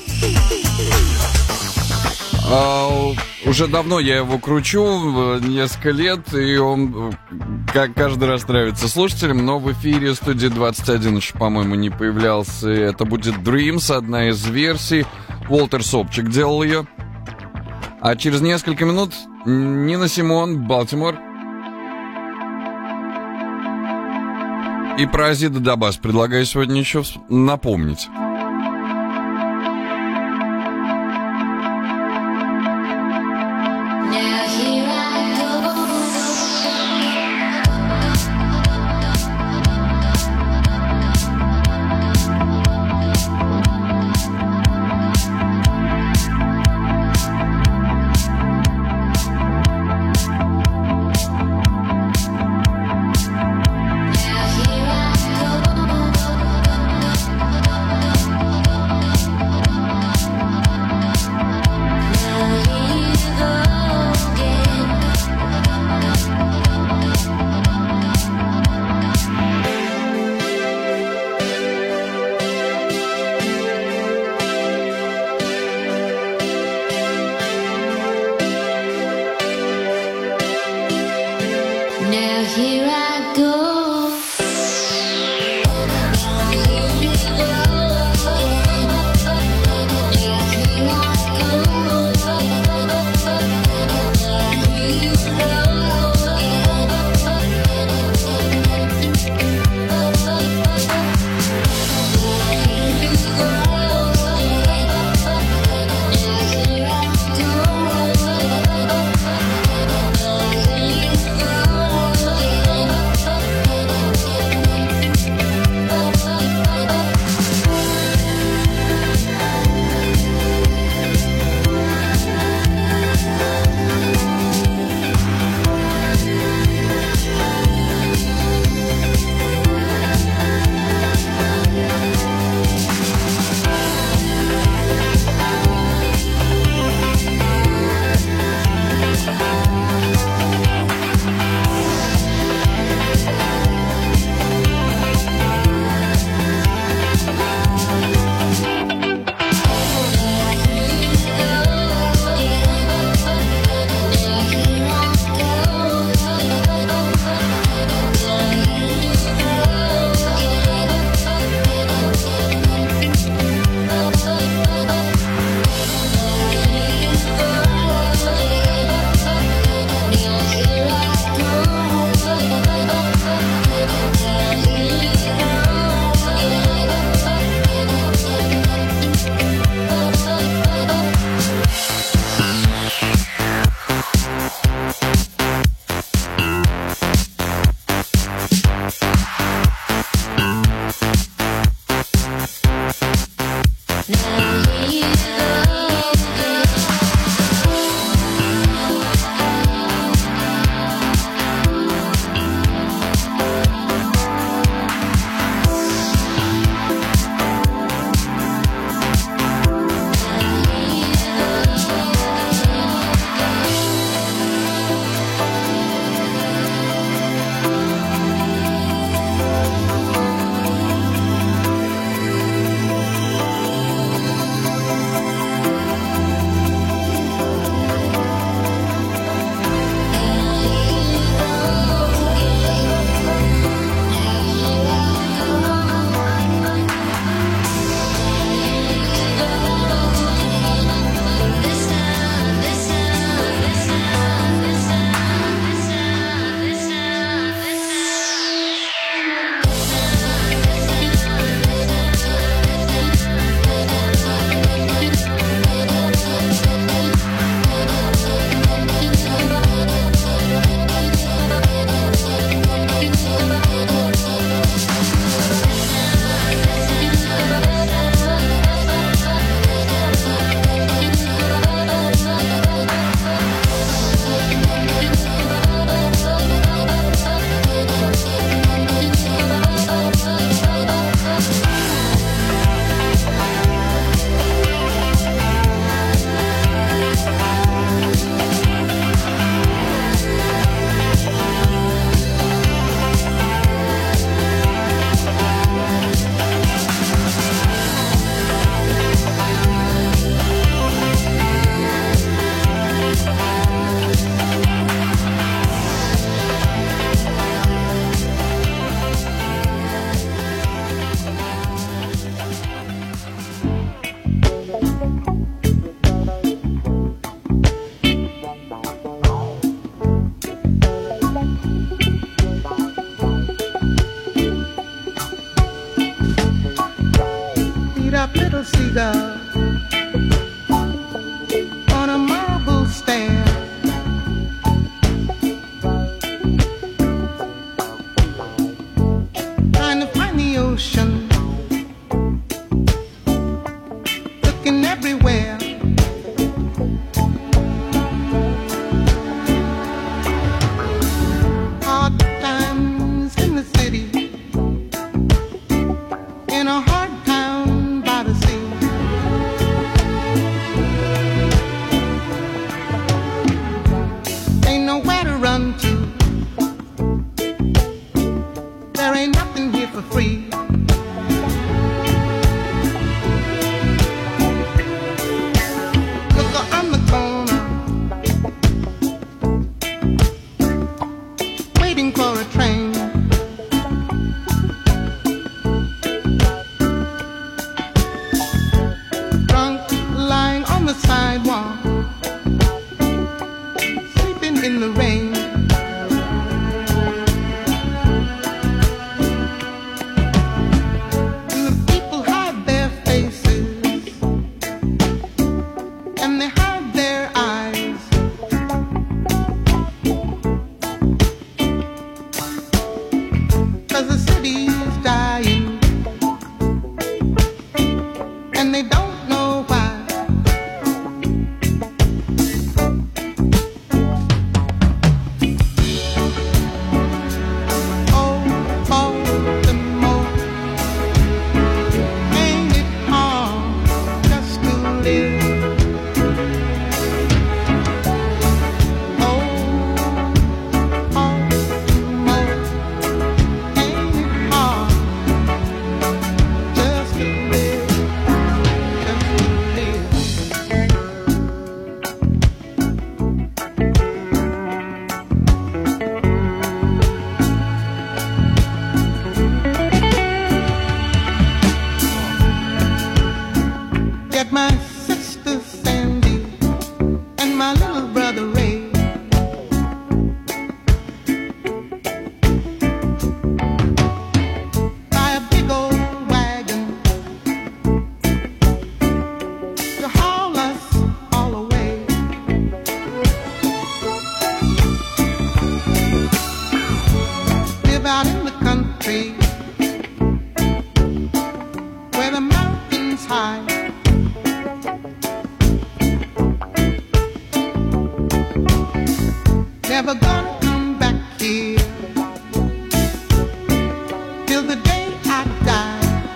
S3: уже давно я его кручу, несколько лет, и он каждый раз нравится слушателям, но в эфире студии 21 еще, по-моему, не появлялся. Это будет Dreams, одна из версий. Уолтер Собчик делал ее. А через несколько минут Нина Симон, Балтимор. И про Азида Дабас предлагаю сегодня еще напомнить.
S19: never gonna come back here till the day I die.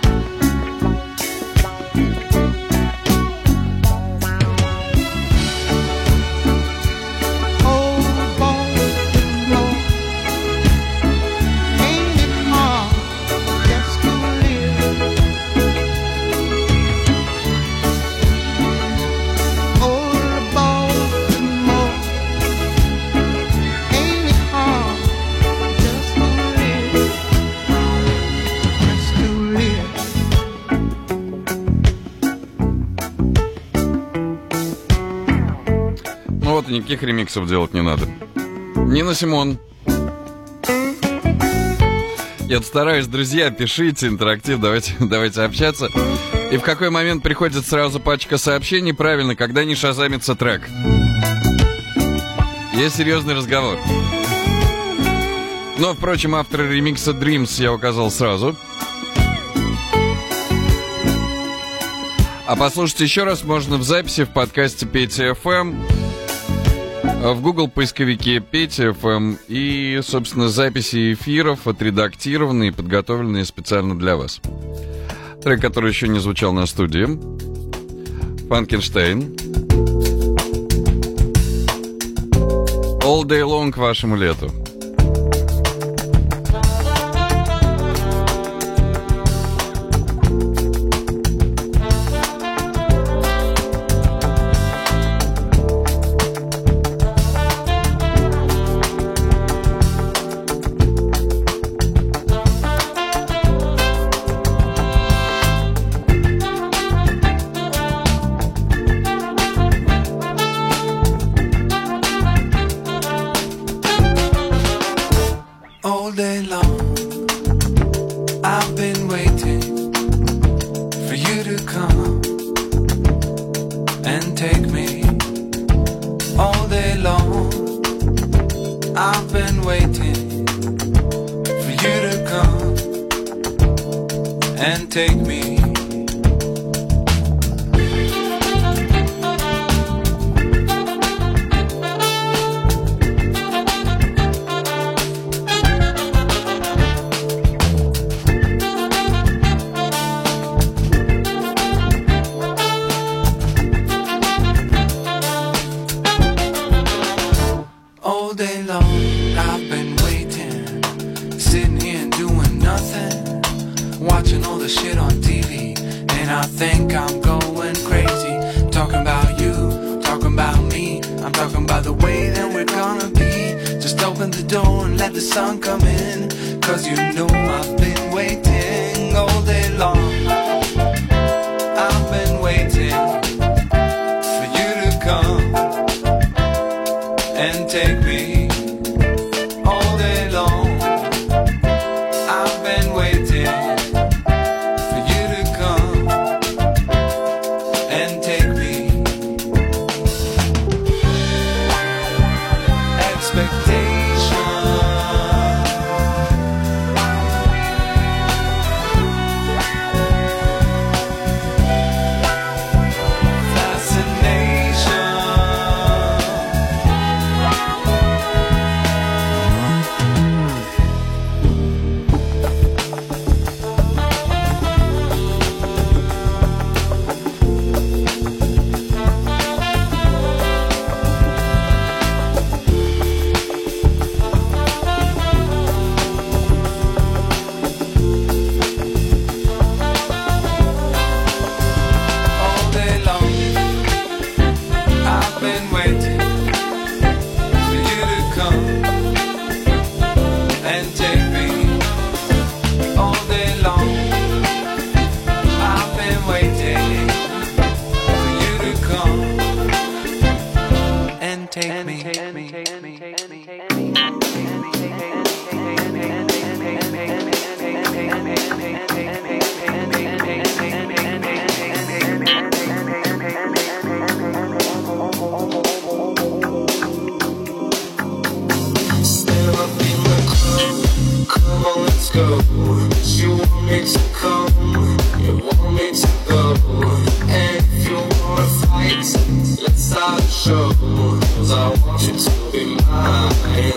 S3: Вот и никаких ремиксов делать не надо. Нина Симон. Я стараюсь, друзья, пишите, интерактив, давайте общаться. И в какой момент приходит сразу пачка сообщений? Правильно, когда не шазамится трек. Есть серьезный разговор. Но, впрочем, автора ремикса Dreams я указал сразу. А послушать еще раз можно в записи в подкасте Петя FM, в Google поисковике Петя FM и, собственно, записи эфиров отредактированные и подготовленные специально для вас. Трек, который еще не звучал на студии. Франкенштейн. All Day Long к вашему лету.
S20: Let's start the show, 'cause I want you to be mine.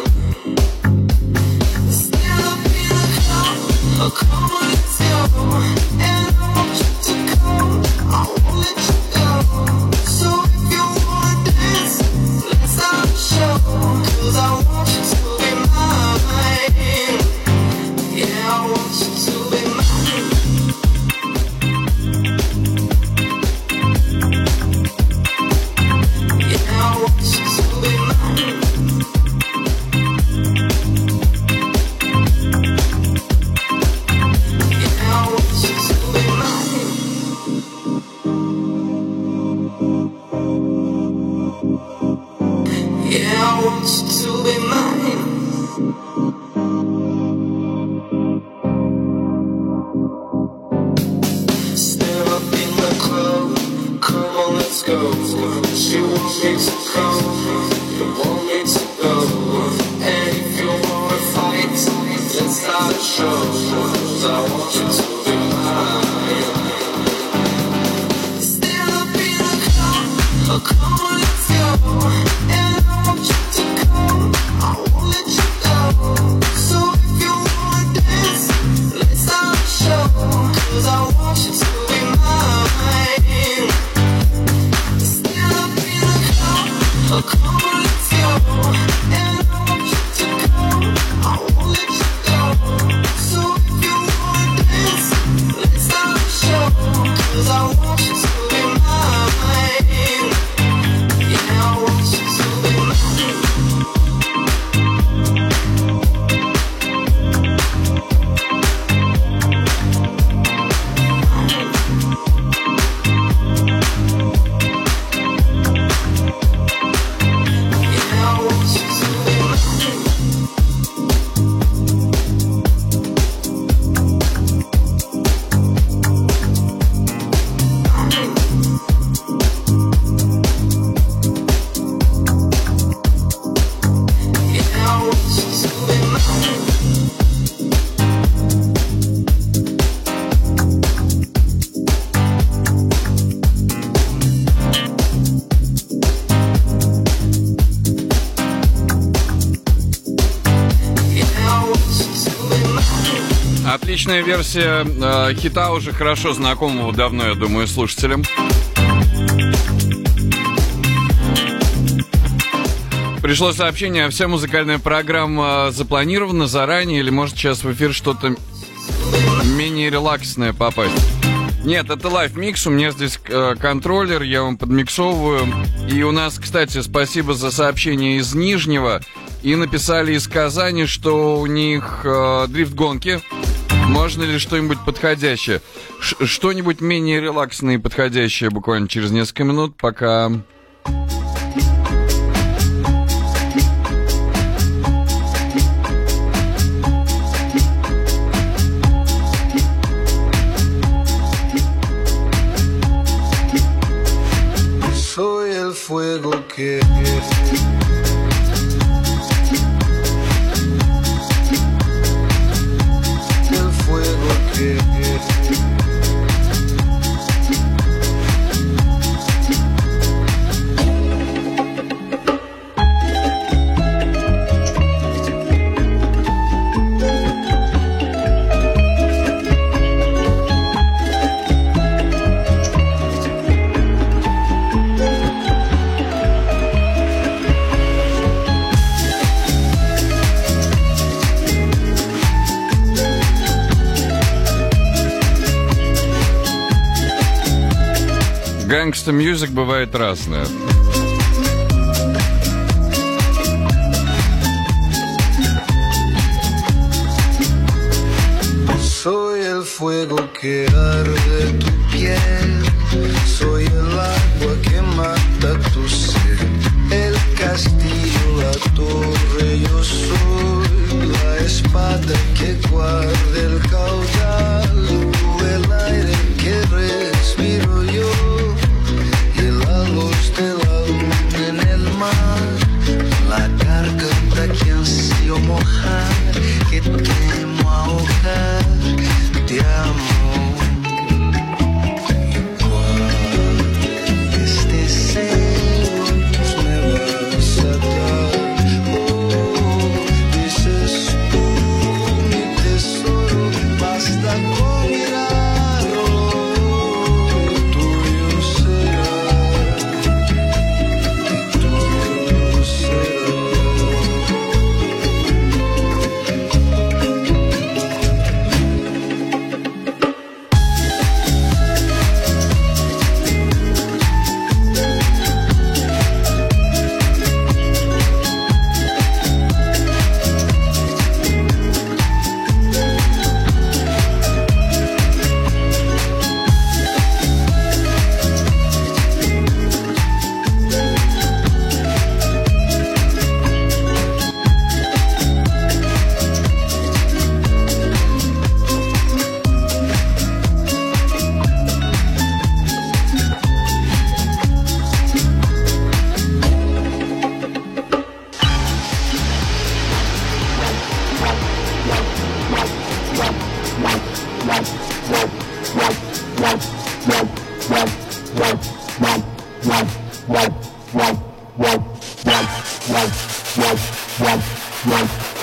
S3: Отличная версия хита, уже хорошо знакомого давно, я думаю, слушателям. Пришло сообщение, вся музыкальная программа запланирована заранее, или может сейчас в эфир что-то менее релаксное попасть? Нет, это лайв-микс, у меня здесь контроллер, я вам подмиксовываю. И у нас, кстати, спасибо за сообщение из Нижнего. И написали из Казани, что у них дрифт-гонки. Можно ли что-нибудь подходящее? Что-нибудь менее релаксное и подходящее буквально через несколько минут, пока...
S20: Soy el fuego que...
S3: Гангста-мьюзик бывает разное.
S20: Soy el fuego que arde tu piel, soy el agua que mata tu sed, el castillo, la torre, yo soy la espada que guarda el caudal, tú el aire que respiro yo. De la luna en el mar, la garganta que ansío mojar, que temo ahogar, te amo. Igual este celos me vas a dar, oh, dices tú mi tesoro, basta con mirarlo, tuyo será.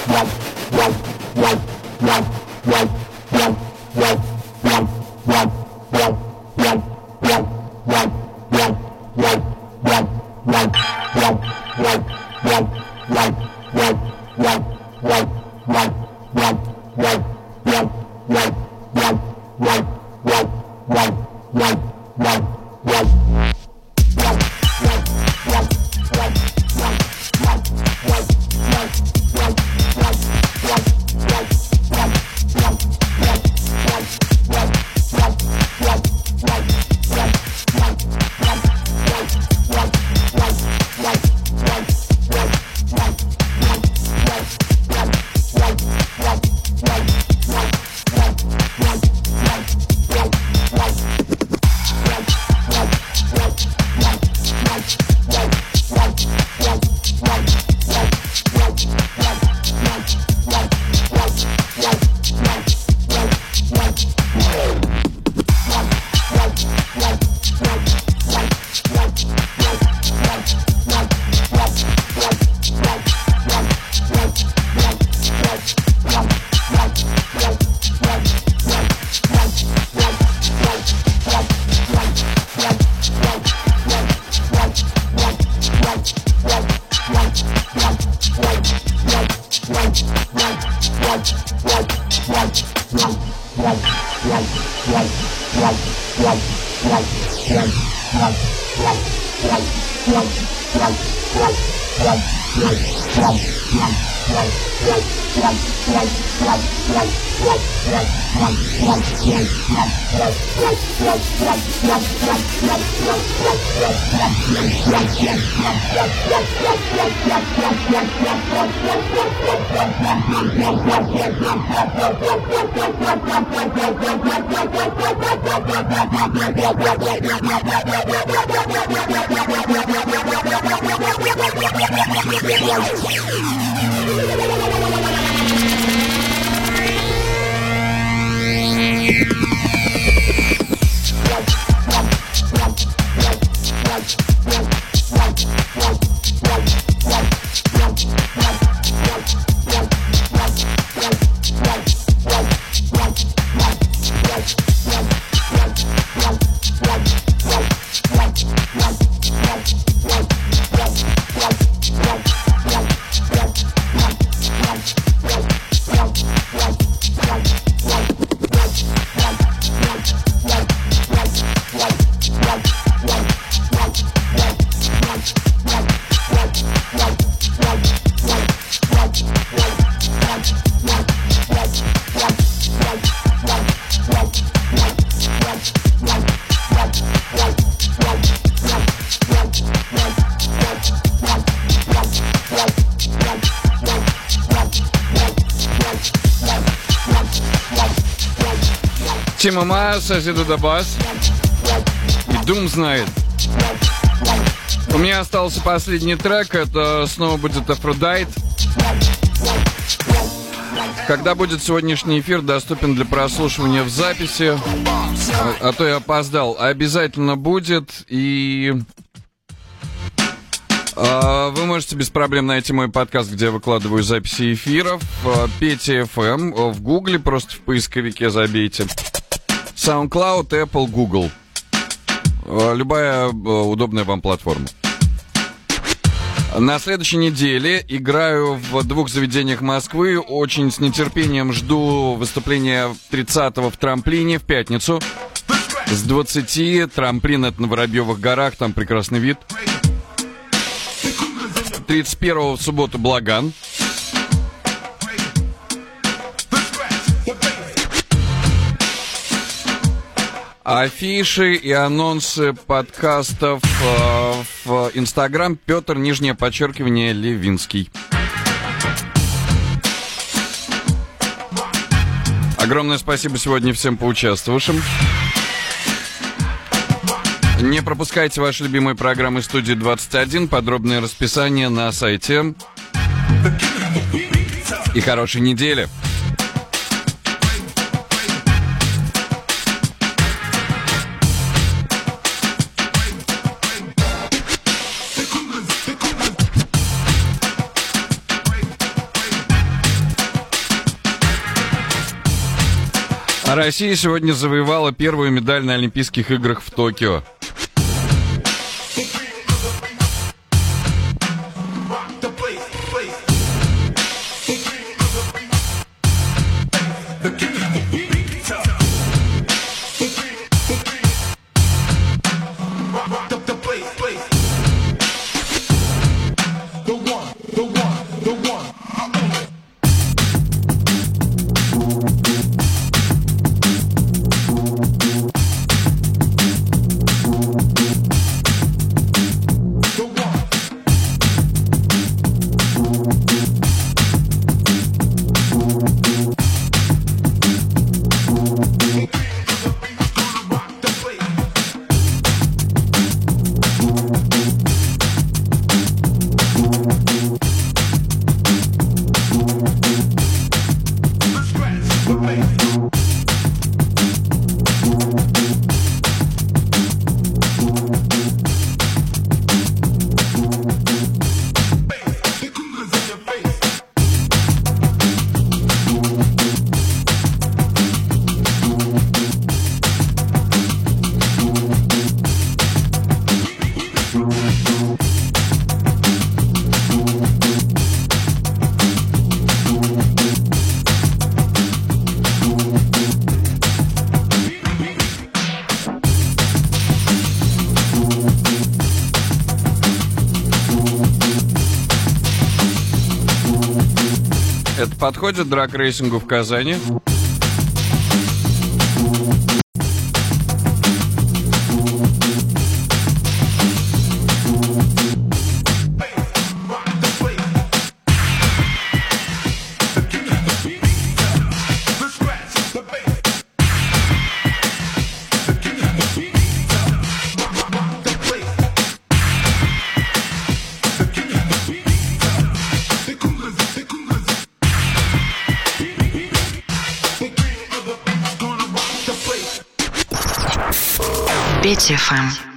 S3: Тима Ма, соседу да бас. И Дум знает. У меня остался последний трек. Это снова будет Афродайт. Когда будет сегодняшний эфир доступен для прослушивания в записи, а то я опоздал, обязательно будет. И вы можете без проблем найти мой подкаст, где я выкладываю записи эфиров. Петя FM в Гугле, просто в поисковике забейте. SoundCloud, Apple, Google. Любая удобная вам платформа. На следующей неделе играю в 2 заведениях Москвы. Очень с нетерпением жду выступления 30-го в Трамплине в пятницу. С 20 трамплин это на Воробьевых горах, там прекрасный вид. 31-го в субботу Благан. Афиши и анонсы подкастов в Инстаграм Петр, _ Левинский. Огромное спасибо сегодня всем поучаствовавшим. Не пропускайте ваши любимые программы студии 21. Подробное расписание на сайте. И хорошей недели. А Россия сегодня завоевала первую медаль на Олимпийских играх в Токио. Это подходит драг-рейсингу в Казани?
S1: Петя ФМ.